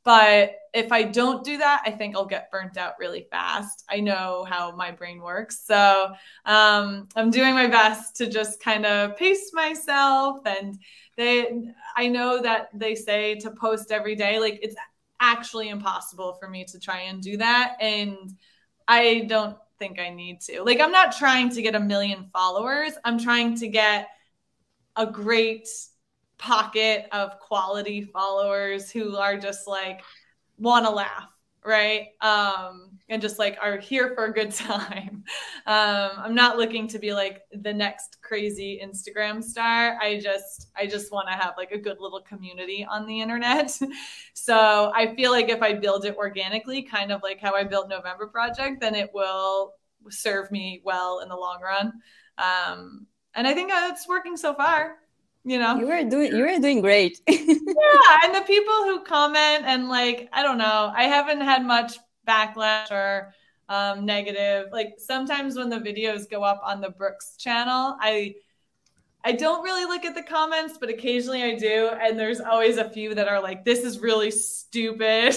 E: But if I don't do that, I think I'll get burnt out really fast. I know how my brain works. So um, I'm doing my best to just kind of pace myself. And they, I know that they say to post every day, like it's actually impossible for me to try and do that. And I don't think I need to. Like, I'm not trying to get a million followers. I'm trying to get a great pocket of quality followers who are just like want to laugh, right? Um, and just like are here for a good time. Um, I'm not looking to be like the next crazy Instagram star. I just, I just want to have like a good little community on the internet. So I feel like if I build it organically, kind of like how I built November Project, then it will serve me well in the long run. Um, and I think it's working so far. You know,
D: you were doing you were doing great.
E: Yeah, and the people who comment and like, I don't know, I haven't had much backlash or um, negative. Like sometimes when the videos go up on the Brooks channel, I I don't really look at the comments, but occasionally I do, and there's always a few that are like, "This is really stupid,"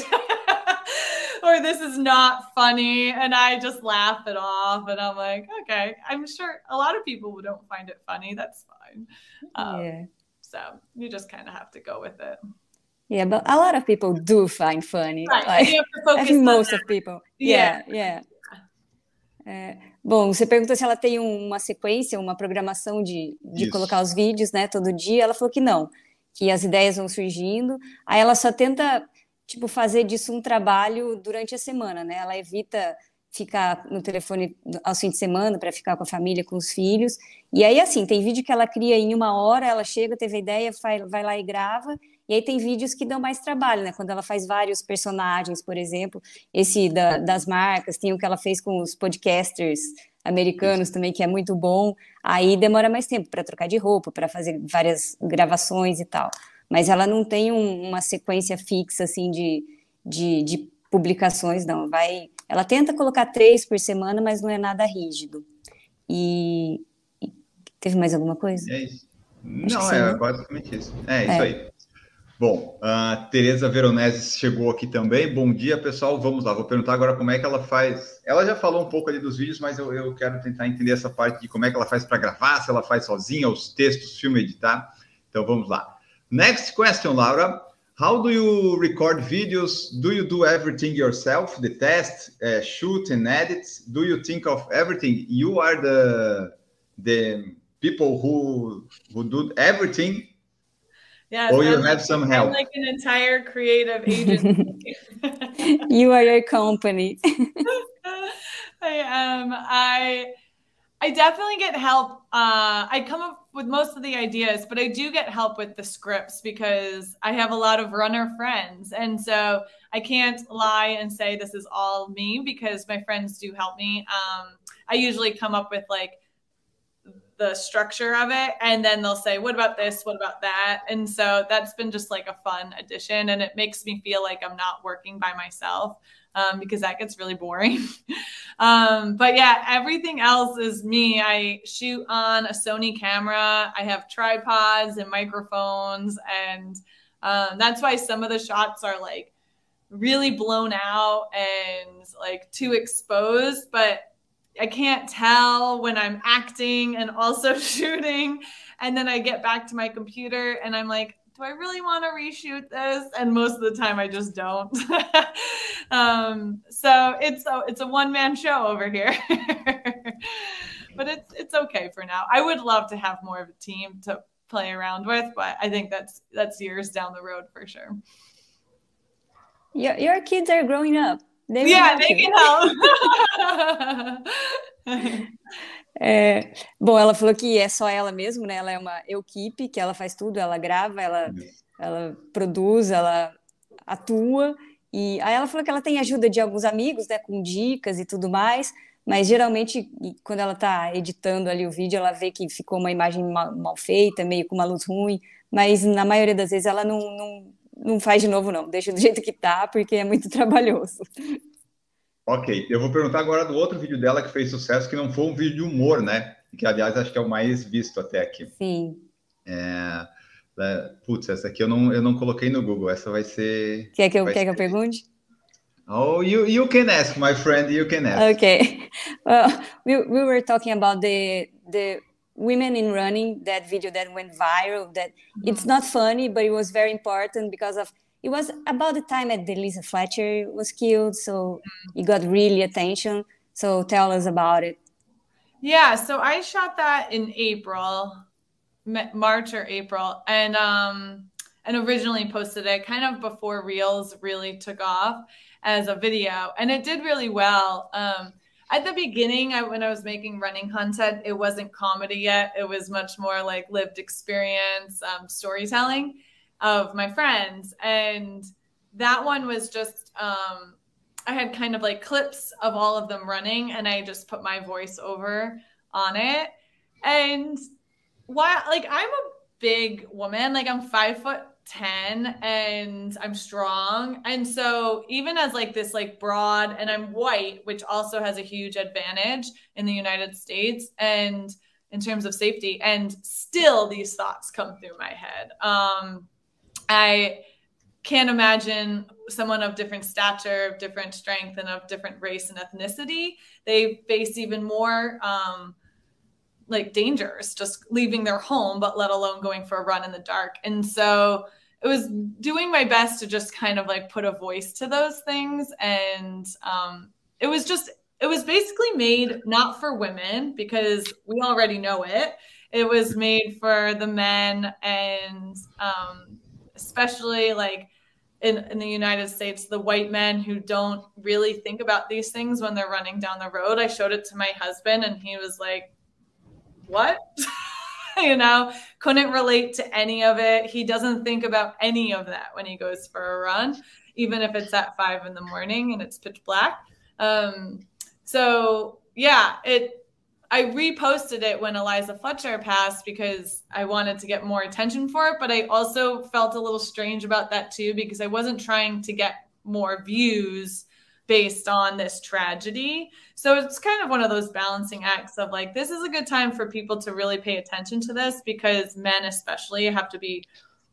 E: or "This is not funny," and I just laugh it off, and I'm like, okay, I'm sure a lot of people who don't find it funny. That's fine. Um, yeah. So you just kind of have to go with it.
D: Yeah, but a lot of people do find funny.
E: Right.
D: Like,
E: you have to focus
D: I think most
E: that.
D: of people.
E: Yeah,
D: yeah. yeah. É, bom, você perguntou se ela tem uma sequência, uma programação de, de colocar os vídeos, né, todo dia. Ela falou que não, que as ideias vão surgindo. Aí ela só tenta, tipo, fazer disso um trabalho durante a semana, né? Ela evita ficar no telefone aos fins de semana para ficar com a família, com os filhos. E aí, assim, tem vídeo que ela cria em uma hora, ela chega, teve a ideia, vai, vai lá e grava. E aí tem vídeos que dão mais trabalho, né? Quando ela faz vários personagens, por exemplo. Esse da, das marcas, tem o que ela fez com os podcasters americanos também, que é muito bom. Aí demora mais tempo para trocar de roupa, para fazer várias gravações e tal. Mas ela não tem um, uma sequência fixa, assim, de, de, de publicações, não. Vai... Ela tenta colocar três por semana, mas não é nada rígido. E, e teve mais alguma coisa?
C: É isso. Acho não, é,
D: né?
C: basicamente isso. É isso
D: é.
C: aí. Bom, a Tereza Veronese chegou aqui também. Bom dia, pessoal. Vamos lá. Vou perguntar agora como é que ela faz. Ela já falou um pouco ali dos vídeos, mas eu, eu quero tentar entender essa parte de como é que ela faz para gravar, se ela faz sozinha, os textos, filme, editar. Então, vamos lá. Next question, Laura. How do you record videos? Do you do everything yourself? The test, uh, shoot and edit? Do you think of everything? You are the the people who who do everything?
E: Yes,
C: or you
E: I'm
C: have
E: like,
C: some help?
E: I'm like an entire creative agency.
D: You are your company.
E: I am. I I definitely get help. Uh, I come up with most of the ideas, but I do get help with the scripts because I have a lot of runner friends. And so I can't lie and say this is all me because my friends do help me. Um, I usually come up with like the structure of it, and then they'll say, what about this? What about that? And so that's been just like a fun addition, and it makes me feel like I'm not working by myself. Um, because that gets really boring. um, but yeah, everything else is me. I shoot on a Sony camera. I have tripods and microphones. And um, that's why some of the shots are like really blown out and like too exposed. But I can't tell when I'm acting and also shooting. And then I get back to my computer and I'm like, do I really want to reshoot this? And most of the time I just don't. um, so it's a, it's a one-man show over here. But it's it's okay for now. I would love to have more of a team to play around with, but I think that's that's years down the road for sure.
D: Your, your kids are growing up. They
E: yeah, they can help.
D: É, bom, ela falou que é só ela mesmo, né? Ela é uma equipe, que ela faz tudo, ela grava, ela, ela produz, ela atua. E aí ela falou que ela tem ajuda de alguns amigos, né? Com dicas e tudo mais. Mas geralmente, quando ela tá editando ali o vídeo, ela vê que ficou uma imagem mal, mal feita, meio com uma luz ruim. Mas na maioria das vezes ela não, não, não faz de novo, não. Deixa do jeito que tá, porque é muito trabalhoso.
C: Ok, eu vou perguntar agora do outro vídeo dela que fez sucesso, que não foi um vídeo de humor, né? Que, aliás, acho que é o mais visto até aqui.
D: Sim.
C: É... É, putz, essa aqui eu não, eu não coloquei no Google. Essa vai ser...
D: Quer que eu,
C: vai
D: quer
C: ser...
D: que eu pergunte?
C: Oh, you, you can ask, my friend, you can ask.
D: Okay. Well, we, we were talking about the the women in running, that video that went viral, that mm-hmm. it's not funny, but it was very important because of, it was about the time that Delisa Fletcher was killed, so mm-hmm. it got really attention. So tell us about it.
E: Yeah, so I shot that in April, March or April, and um, and originally posted it kind of before Reels really took off as a video, and it did really well. Um, at the beginning, I, when I was making running content, it wasn't comedy yet. It was much more like lived experience, um, storytelling of my friends, and that one was just um, I had kind of like clips of all of them running, and I just put my voice over on it. And while like I'm a big woman, like I'm five foot ten and I'm strong. And so even as like this like broad, and I'm white, which also has a huge advantage in the United States and in terms of safety, and still these thoughts come through my head. Um, I can't imagine someone of different stature, of different strength, and of different race and ethnicity. They face even more um, like dangers just leaving their home, but let alone going for a run in the dark. And so it was doing my best to just kind of like put a voice to those things. And um, it was just, it was basically made not for women because we already know it. It was made for the men, and um, especially like in, in the United States, the white men who don't really think about these things when they're running down the road. I showed it to my husband and he was like, what? You know, couldn't relate to any of it. He doesn't think about any of that when he goes for a run, even if it's at five in the morning and it's pitch black. Um, so yeah, it, I reposted it when Eliza Fletcher passed because I wanted to get more attention for it, but I also felt a little strange about that too, because I wasn't trying to get more views based on this tragedy. So it's kind of one of those balancing acts of like, this is a good time for people to really pay attention to this, because men especially have to be,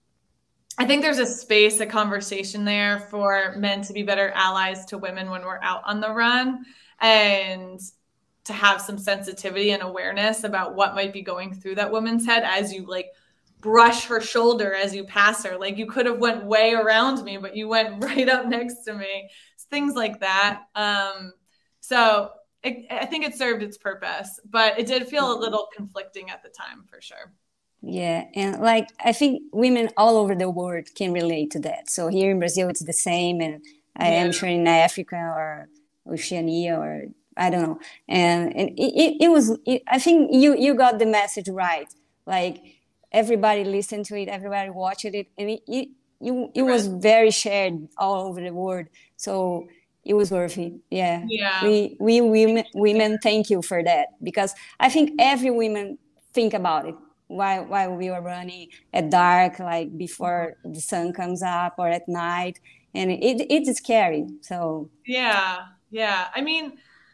E: I think there's a space, a conversation there for men to be better allies to women when we're out on the run, and to have some sensitivity and awareness about what might be going through that woman's head as you like brush her shoulder as you pass her. Like you could have went way around me, but you went right up next to me. Things like that. Um, so it, I think it served its purpose, but it did feel a little conflicting at the time for sure.
D: Yeah. And like, I think women all over the world can relate to that. So here in Brazil, it's the same. And I
E: Yeah.
D: am sure in Africa or Oceania or I don't know. And, and it, it, it was, it, I think you, you got the message right. Like everybody listened to it, everybody watched it. And it, it, it, it was very shared all over the world. So it was worth it. Yeah.
E: Yeah.
D: We, we women, women, thank you for that. Because I think every woman think about it while, while we were running at dark, like before the sun comes up or at night. And it, it's scary. So.
E: Yeah. Yeah. I mean,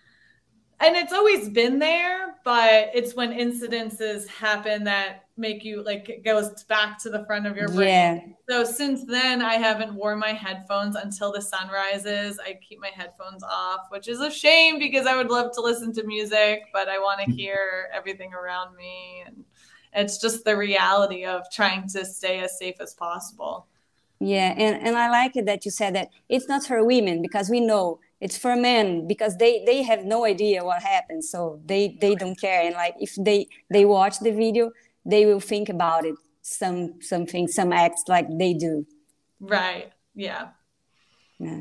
E: and it's always been there, but it's when incidences happen that make you like, it goes back to the front of your brain.
D: Yeah.
E: So since then I haven't worn my headphones until the sun rises. I keep my headphones off, which is a shame because I would love to listen to music, but I want to hear everything around me. And it's just the reality of trying to stay as safe as possible.
D: Yeah. And, and I like it that you said that it's not for women, because we know it's for men, because they, they have no idea what happens. So they, they don't care. And like, if they, they watch the video, they will think about it. Some, something, some acts like they do.
E: Right. Yeah.
D: Yeah.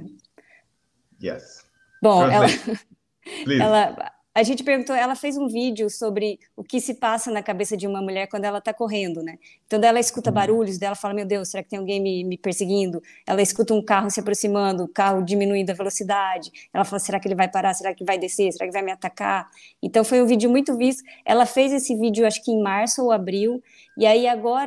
C: Yes.
D: Bom, ela,
C: Please.
D: ela, a gente perguntou, ela fez um vídeo sobre o que se passa na cabeça de uma mulher quando ela está correndo, né? Então, ela escuta barulhos, dela fala, meu Deus, será que tem alguém me, me perseguindo? Ela escuta um carro se aproximando, o carro diminuindo a velocidade. Ela fala, será que ele vai parar? Será que vai descer? Será que vai me atacar? Então, foi um vídeo muito visto. Ela fez esse vídeo, acho que em março ou abril. E aí, agora,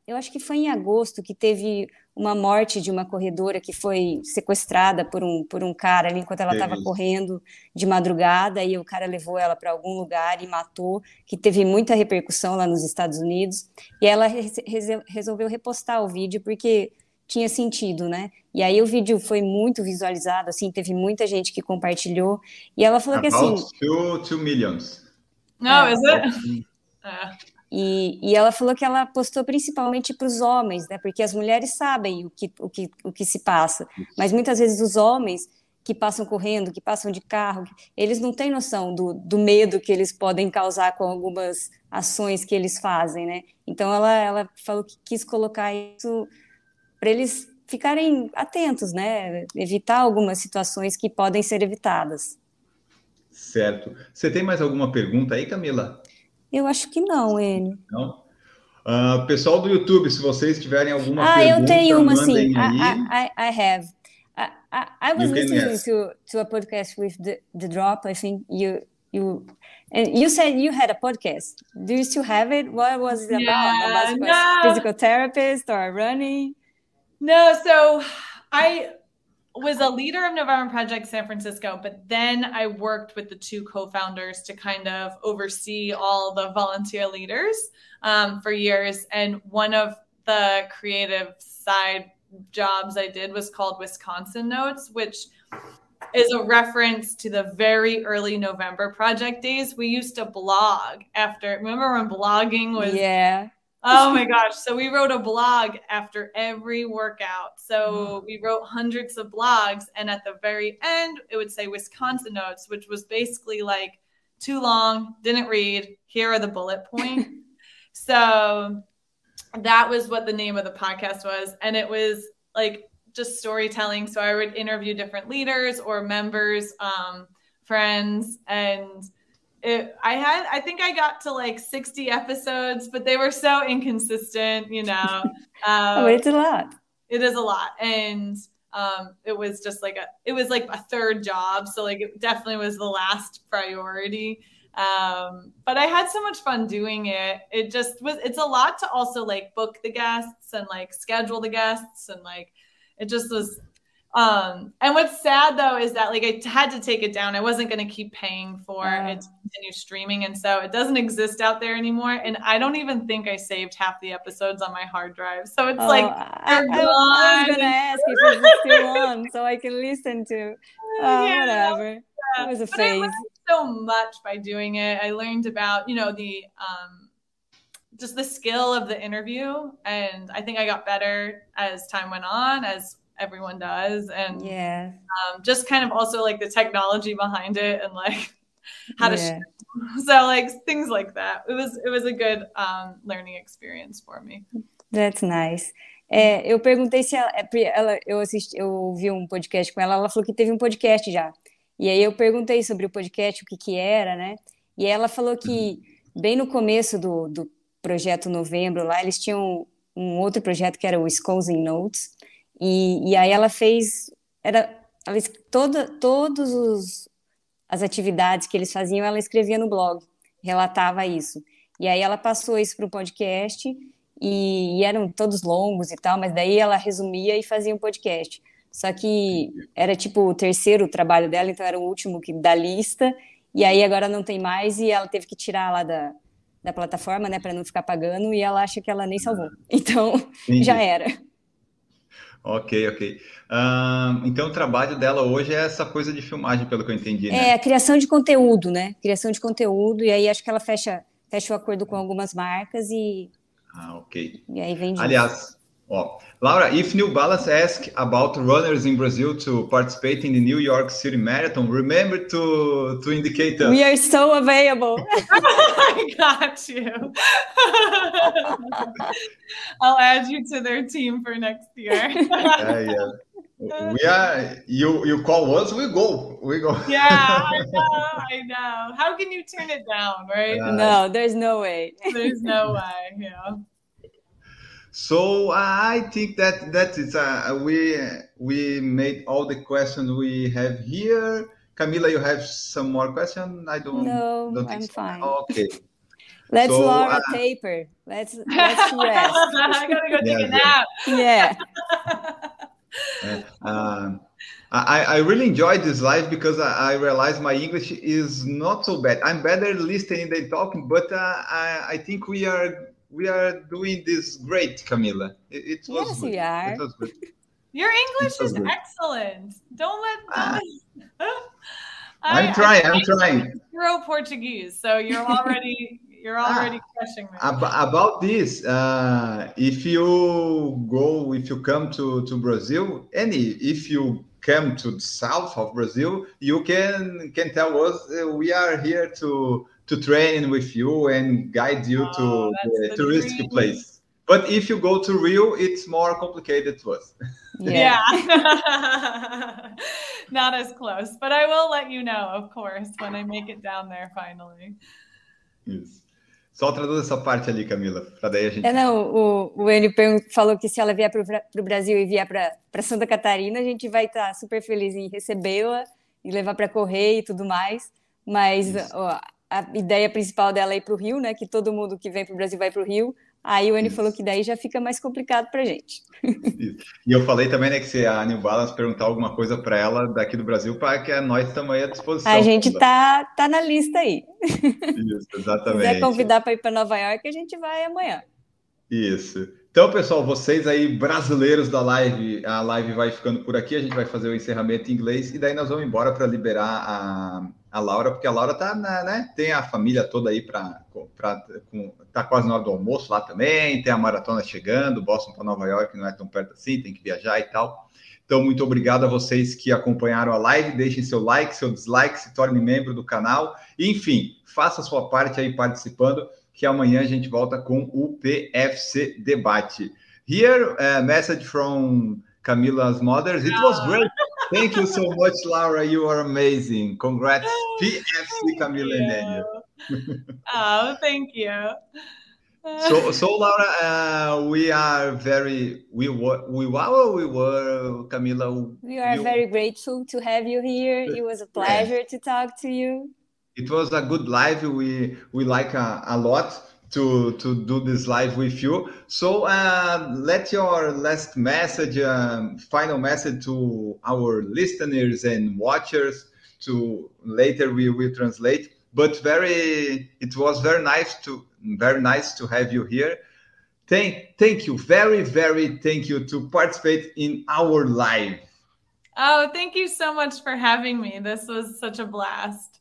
D: eu acho que foi em agosto que teve uma morte de uma corredora que foi sequestrada por um, por um cara ali enquanto ela estava correndo de madrugada, e o cara levou ela para algum lugar e matou, que teve muita repercussão lá nos Estados Unidos, e ela re resolveu repostar o vídeo porque tinha sentido, né? E aí o vídeo foi muito visualizado, assim, teve muita gente que compartilhou, e ela falou
C: About
D: que assim...
C: two, two millions.
E: No,
D: é,
E: is it? Uh.
D: E, e ela falou que ela postou principalmente para os homens, né? Porque as mulheres sabem o que, o, que, o que se passa, mas muitas vezes os homens que passam correndo, que passam de carro, eles não têm noção do, do medo que eles podem causar com algumas ações que eles fazem, né? Então ela, ela falou que quis colocar isso para eles ficarem atentos, né? Evitar algumas situações que podem ser evitadas.
C: Certo. Você tem mais alguma pergunta aí, Camila?
D: Eu acho que não, Enio.
C: Não? Uh, pessoal do YouTube, se vocês tiverem alguma
D: ah,
C: pergunta,
D: eu tenho uma,
C: mandem
D: sim.
C: aí.
D: I, I, I have. I, I, I was
C: You can
D: listening
C: ask.
D: to, to a podcast with the, the Drop, I think you you and you said you had a podcast. Do you still have it? What was it about?
E: Yeah,
D: About
E: no.
D: a physical therapist or running?
E: No, so I was a leader of November Project San Francisco, but then I worked with the two co-founders to kind of oversee all the volunteer leaders um, for years. And one of the creative side jobs I did was called Wisconsin Notes, which is a reference to the very early November Project days. We used to blog after, remember when blogging was...
D: Yeah.
E: Oh my gosh. So we wrote a blog after every workout. So we wrote hundreds of blogs. And at the very end, it would say Wisconsin Notes, which was basically like too long, didn't read. Here are the bullet points. So that was what the name of the podcast was. And it was like just storytelling. So I would interview different leaders or members, um, friends, and It, I had, I think I got to like sixty episodes, but they were so inconsistent, you know. Um,
D: oh, it's a lot.
E: It is a lot. And um, it was just like a, it was like a third job. So like it definitely was the last priority. Um, but I had so much fun doing it. It just was, it's a lot to also like book the guests and like schedule the guests. And like, it just was, Um, and what's sad though is that like I had to take it down. I wasn't going to keep paying for
D: uh,
E: it to continue streaming, and so it doesn't exist out there anymore. And I don't even think I saved half the episodes on my hard drive. So it's
D: oh,
E: like
D: I, I, I was going to ask if it's still on so I can listen to. Oh,
E: yeah,
D: whatever.
E: Yeah.
D: It was a
E: but
D: phase.
E: I learned so much by doing it. I learned about you know the um, just the skill of the interview, and I think I got better as time went on, as everyone does, and
D: yeah,
E: um, just kind of also like the technology behind it and like how to
D: yeah.
E: so like things like that. It was it was a good um, learning experience for me.
D: That's nice. É, eu perguntei se ela, ela eu assisti, eu ouvi um podcast com ela, ela falou que teve um podcast já. E aí eu perguntei sobre o podcast, o que que era, né? E ela falou que bem no começo do, do projeto Novembro lá, eles tinham um outro projeto que era o Wisconsin Notes. E, e aí ela fez, era, ela, toda, todos os, as atividades que eles faziam, ela escrevia no blog, relatava isso. E aí ela passou isso para o podcast, e, e eram todos longos e tal, mas daí ela resumia e fazia um podcast. Só que era tipo o terceiro trabalho dela, então era o último que, da lista, e aí agora não tem mais, e ela teve que tirar lá da, da plataforma, né, para não ficar pagando, e ela acha que ela nem salvou. Então,
C: Entendi.
D: Já era.
C: Ok, ok. Um, então o trabalho dela hoje é essa coisa de filmagem, pelo que eu entendi, né?
D: É, a criação de conteúdo, né? Criação de conteúdo, e aí acho que ela fecha, fecha o acordo com algumas marcas e...
C: Ah, ok.
D: E aí vem disso.
C: Aliás, ó, Laura, if New Balance asks about runners in Brazil to participate in the New York City Marathon, remember to, to indicate us.
D: We are so available.
E: I got you. I'll add you to their team for next year.
C: yeah, yeah. We are, you, you call us, we go. We go.
E: Yeah, I know, I know. How can you turn it down, right?
C: Uh,
D: no, there's no way.
E: There's no way, yeah.
C: So I think that that is uh, we we made all the questions we have here. Camila, you have some more questions? I don't.
D: No,
C: don't
D: I'm
C: think so.
D: fine.
C: Okay.
D: Let's
C: So,
D: Laura
C: uh,
D: taper. Let's let's rest.
E: I gotta go take
C: Yeah,
E: a nap.
D: Yeah.
C: Uh, um, I, I really enjoyed this live because I, I realized my English is not so bad. I'm better listening than talking, but uh, I, I think we are we are doing this great, Camila. It, it was
D: Yes,
C: good.
D: we are.
C: It was good.
E: Your English
C: That's
E: is
C: good.
E: excellent. Don't let.
C: Ah.
E: Don't
C: I'm
E: I-
C: trying.
E: I
C: I'm trying.
E: Zero Portuguese, so you're already you're already crushing me.
C: Ab- about this, uh, if you go, if you come to, to Brazil, any, if you come to the south of Brazil, you can can tell us uh, we are here to to train with you and guide you
E: Oh,
C: to
E: that's
C: the
E: the
C: touristic
E: dream.
C: place. But if you go to Rio, it's more complicated to us.
D: Yeah.
E: Yeah. Not as close, but I will let you know, of course, when I make it down there finally.
C: Isso. Só traduz essa parte ali, Camila, para daí a gente.
D: É, não, o, o Enio pergun- falou que se ela vier para o Brasil e vier para Santa Catarina, a gente vai estar super feliz em recebê-la e levar para correr e tudo mais. Mas
C: Isso.
D: ó, a ideia principal dela é ir para o Rio, né? Que todo mundo que vem para o Brasil vai para o Rio. Aí o Enio
C: Isso.
D: falou que daí já fica mais complicado para a gente.
C: Isso. E eu falei também, né, que se a New Balance perguntar alguma coisa para ela daqui do Brasil, para que nós estamos aí à disposição.
D: A gente
C: Camila.
D: tá, tá na lista aí.
C: Isso,
D: Se quiser
C: exatamente.
D: convidar para ir para Nova York, a gente vai amanhã.
C: Isso. Então, pessoal, vocês aí brasileiros da live, a live vai ficando por aqui, a gente vai fazer o encerramento em inglês e daí nós vamos embora para liberar a, a Laura, porque a Laura tá, na, né, tem a família toda aí para tá quase na hora do almoço lá também, tem a maratona chegando, Boston para Nova York não é tão perto assim, tem que viajar e tal. Então, muito obrigado a vocês que acompanharam a live, deixem seu like, seu dislike, se torne membro do canal, enfim, faça a sua parte aí participando, que amanhã a gente volta com o P F C Debate. Here, a message from Camila's mothers. It was great. Thank you so much, Laura. You are amazing. Congrats, P F C Camila and Daniel.
E: Oh, thank you.
C: So, so Laura, uh, we are very, we were, we were, we were, Camila.
D: We are
C: you-
D: very grateful to have you here. It was a pleasure to talk to you.
C: It was a good live. We we like a, a lot to to do this live with you. So uh, let your last message, um, final message to our listeners and watchers. To later we will translate. But very, it was very nice to very nice to have you here. Thank thank you very very thank you to participate in our live.
E: Oh, thank you so much for having me. This was such a blast.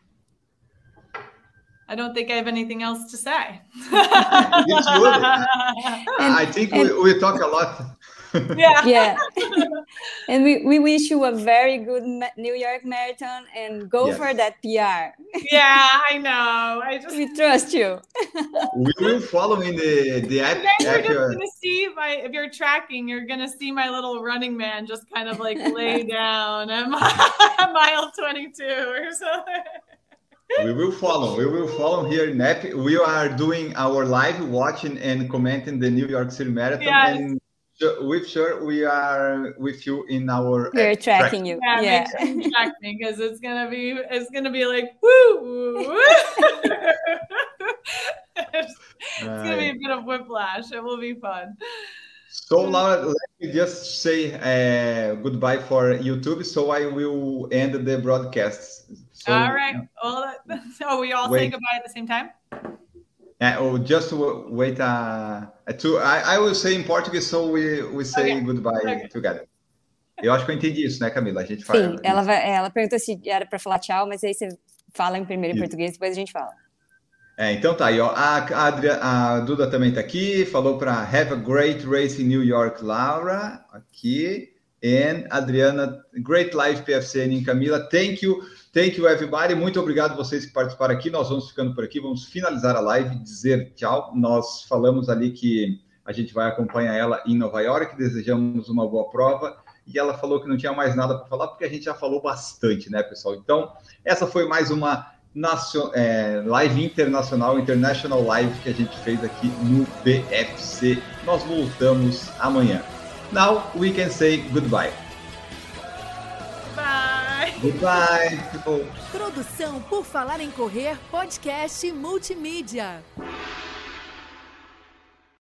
E: I don't think I have anything else to say.
C: It's good. I think we, we talk a lot.
E: Yeah.
D: Yeah. And we, we wish you a very good ma- New York Marathon and go
C: Yes.
D: for that P R.
E: Yeah, I know. I just
D: We trust you.
C: We will follow in the the app.
E: You guys are
C: app,
E: just
C: uh,
E: gonna see my if you're tracking, you're gonna see my little running man just kind of like lay down at mi- mile twenty-two or something.
C: We will follow. We will follow here in app. We are doing our live watching and commenting the New York City Marathon.
E: Yes.
C: And su- with sure we are with you in our
D: We're
C: app
D: tracking you.
E: Yeah,
D: Yeah.
E: make sure you track me because it's gonna be it's gonna be like woo woo. woo. It's gonna be a bit of whiplash. It will be fun.
C: So Laura, let me just say uh, goodbye for YouTube. So I will end the broadcast. So,
E: All right. Well, so we all say
C: Wait.
E: goodbye at the same time.
C: Uh, oh, just w- wait. Uh, to I, I will say in Portuguese, so we we say
E: Okay.
C: goodbye
E: Okay.
C: together. Eu acho que eu entendi isso, né, Camila? A gente faz.
D: Sim, ela, vai, ela perguntou se era para falar tchau, mas aí você fala em primeiro em
C: Isso.
D: português, depois a gente fala.
C: É, então tá aí, ó. A, a, Adria- a Duda também tá aqui, falou para have a great race in New York, Laura, aqui. And Adriana, great live P F C em Camila. Thank you, thank you everybody. Muito obrigado vocês que participaram aqui. Nós vamos ficando por aqui, vamos finalizar a live, dizer tchau. Nós falamos ali que a gente vai acompanhar ela em Nova York, desejamos uma boa prova. E ela falou que não tinha mais nada para falar, porque a gente já falou bastante, né, pessoal? Então, essa foi mais uma nacio- é, live internacional, International Live, que a gente fez aqui no P F C. Nós voltamos amanhã. Now we can say goodbye.
E: Bye.
C: Goodbye, people.
F: Produção Por Falar em Correr, podcast multimídia.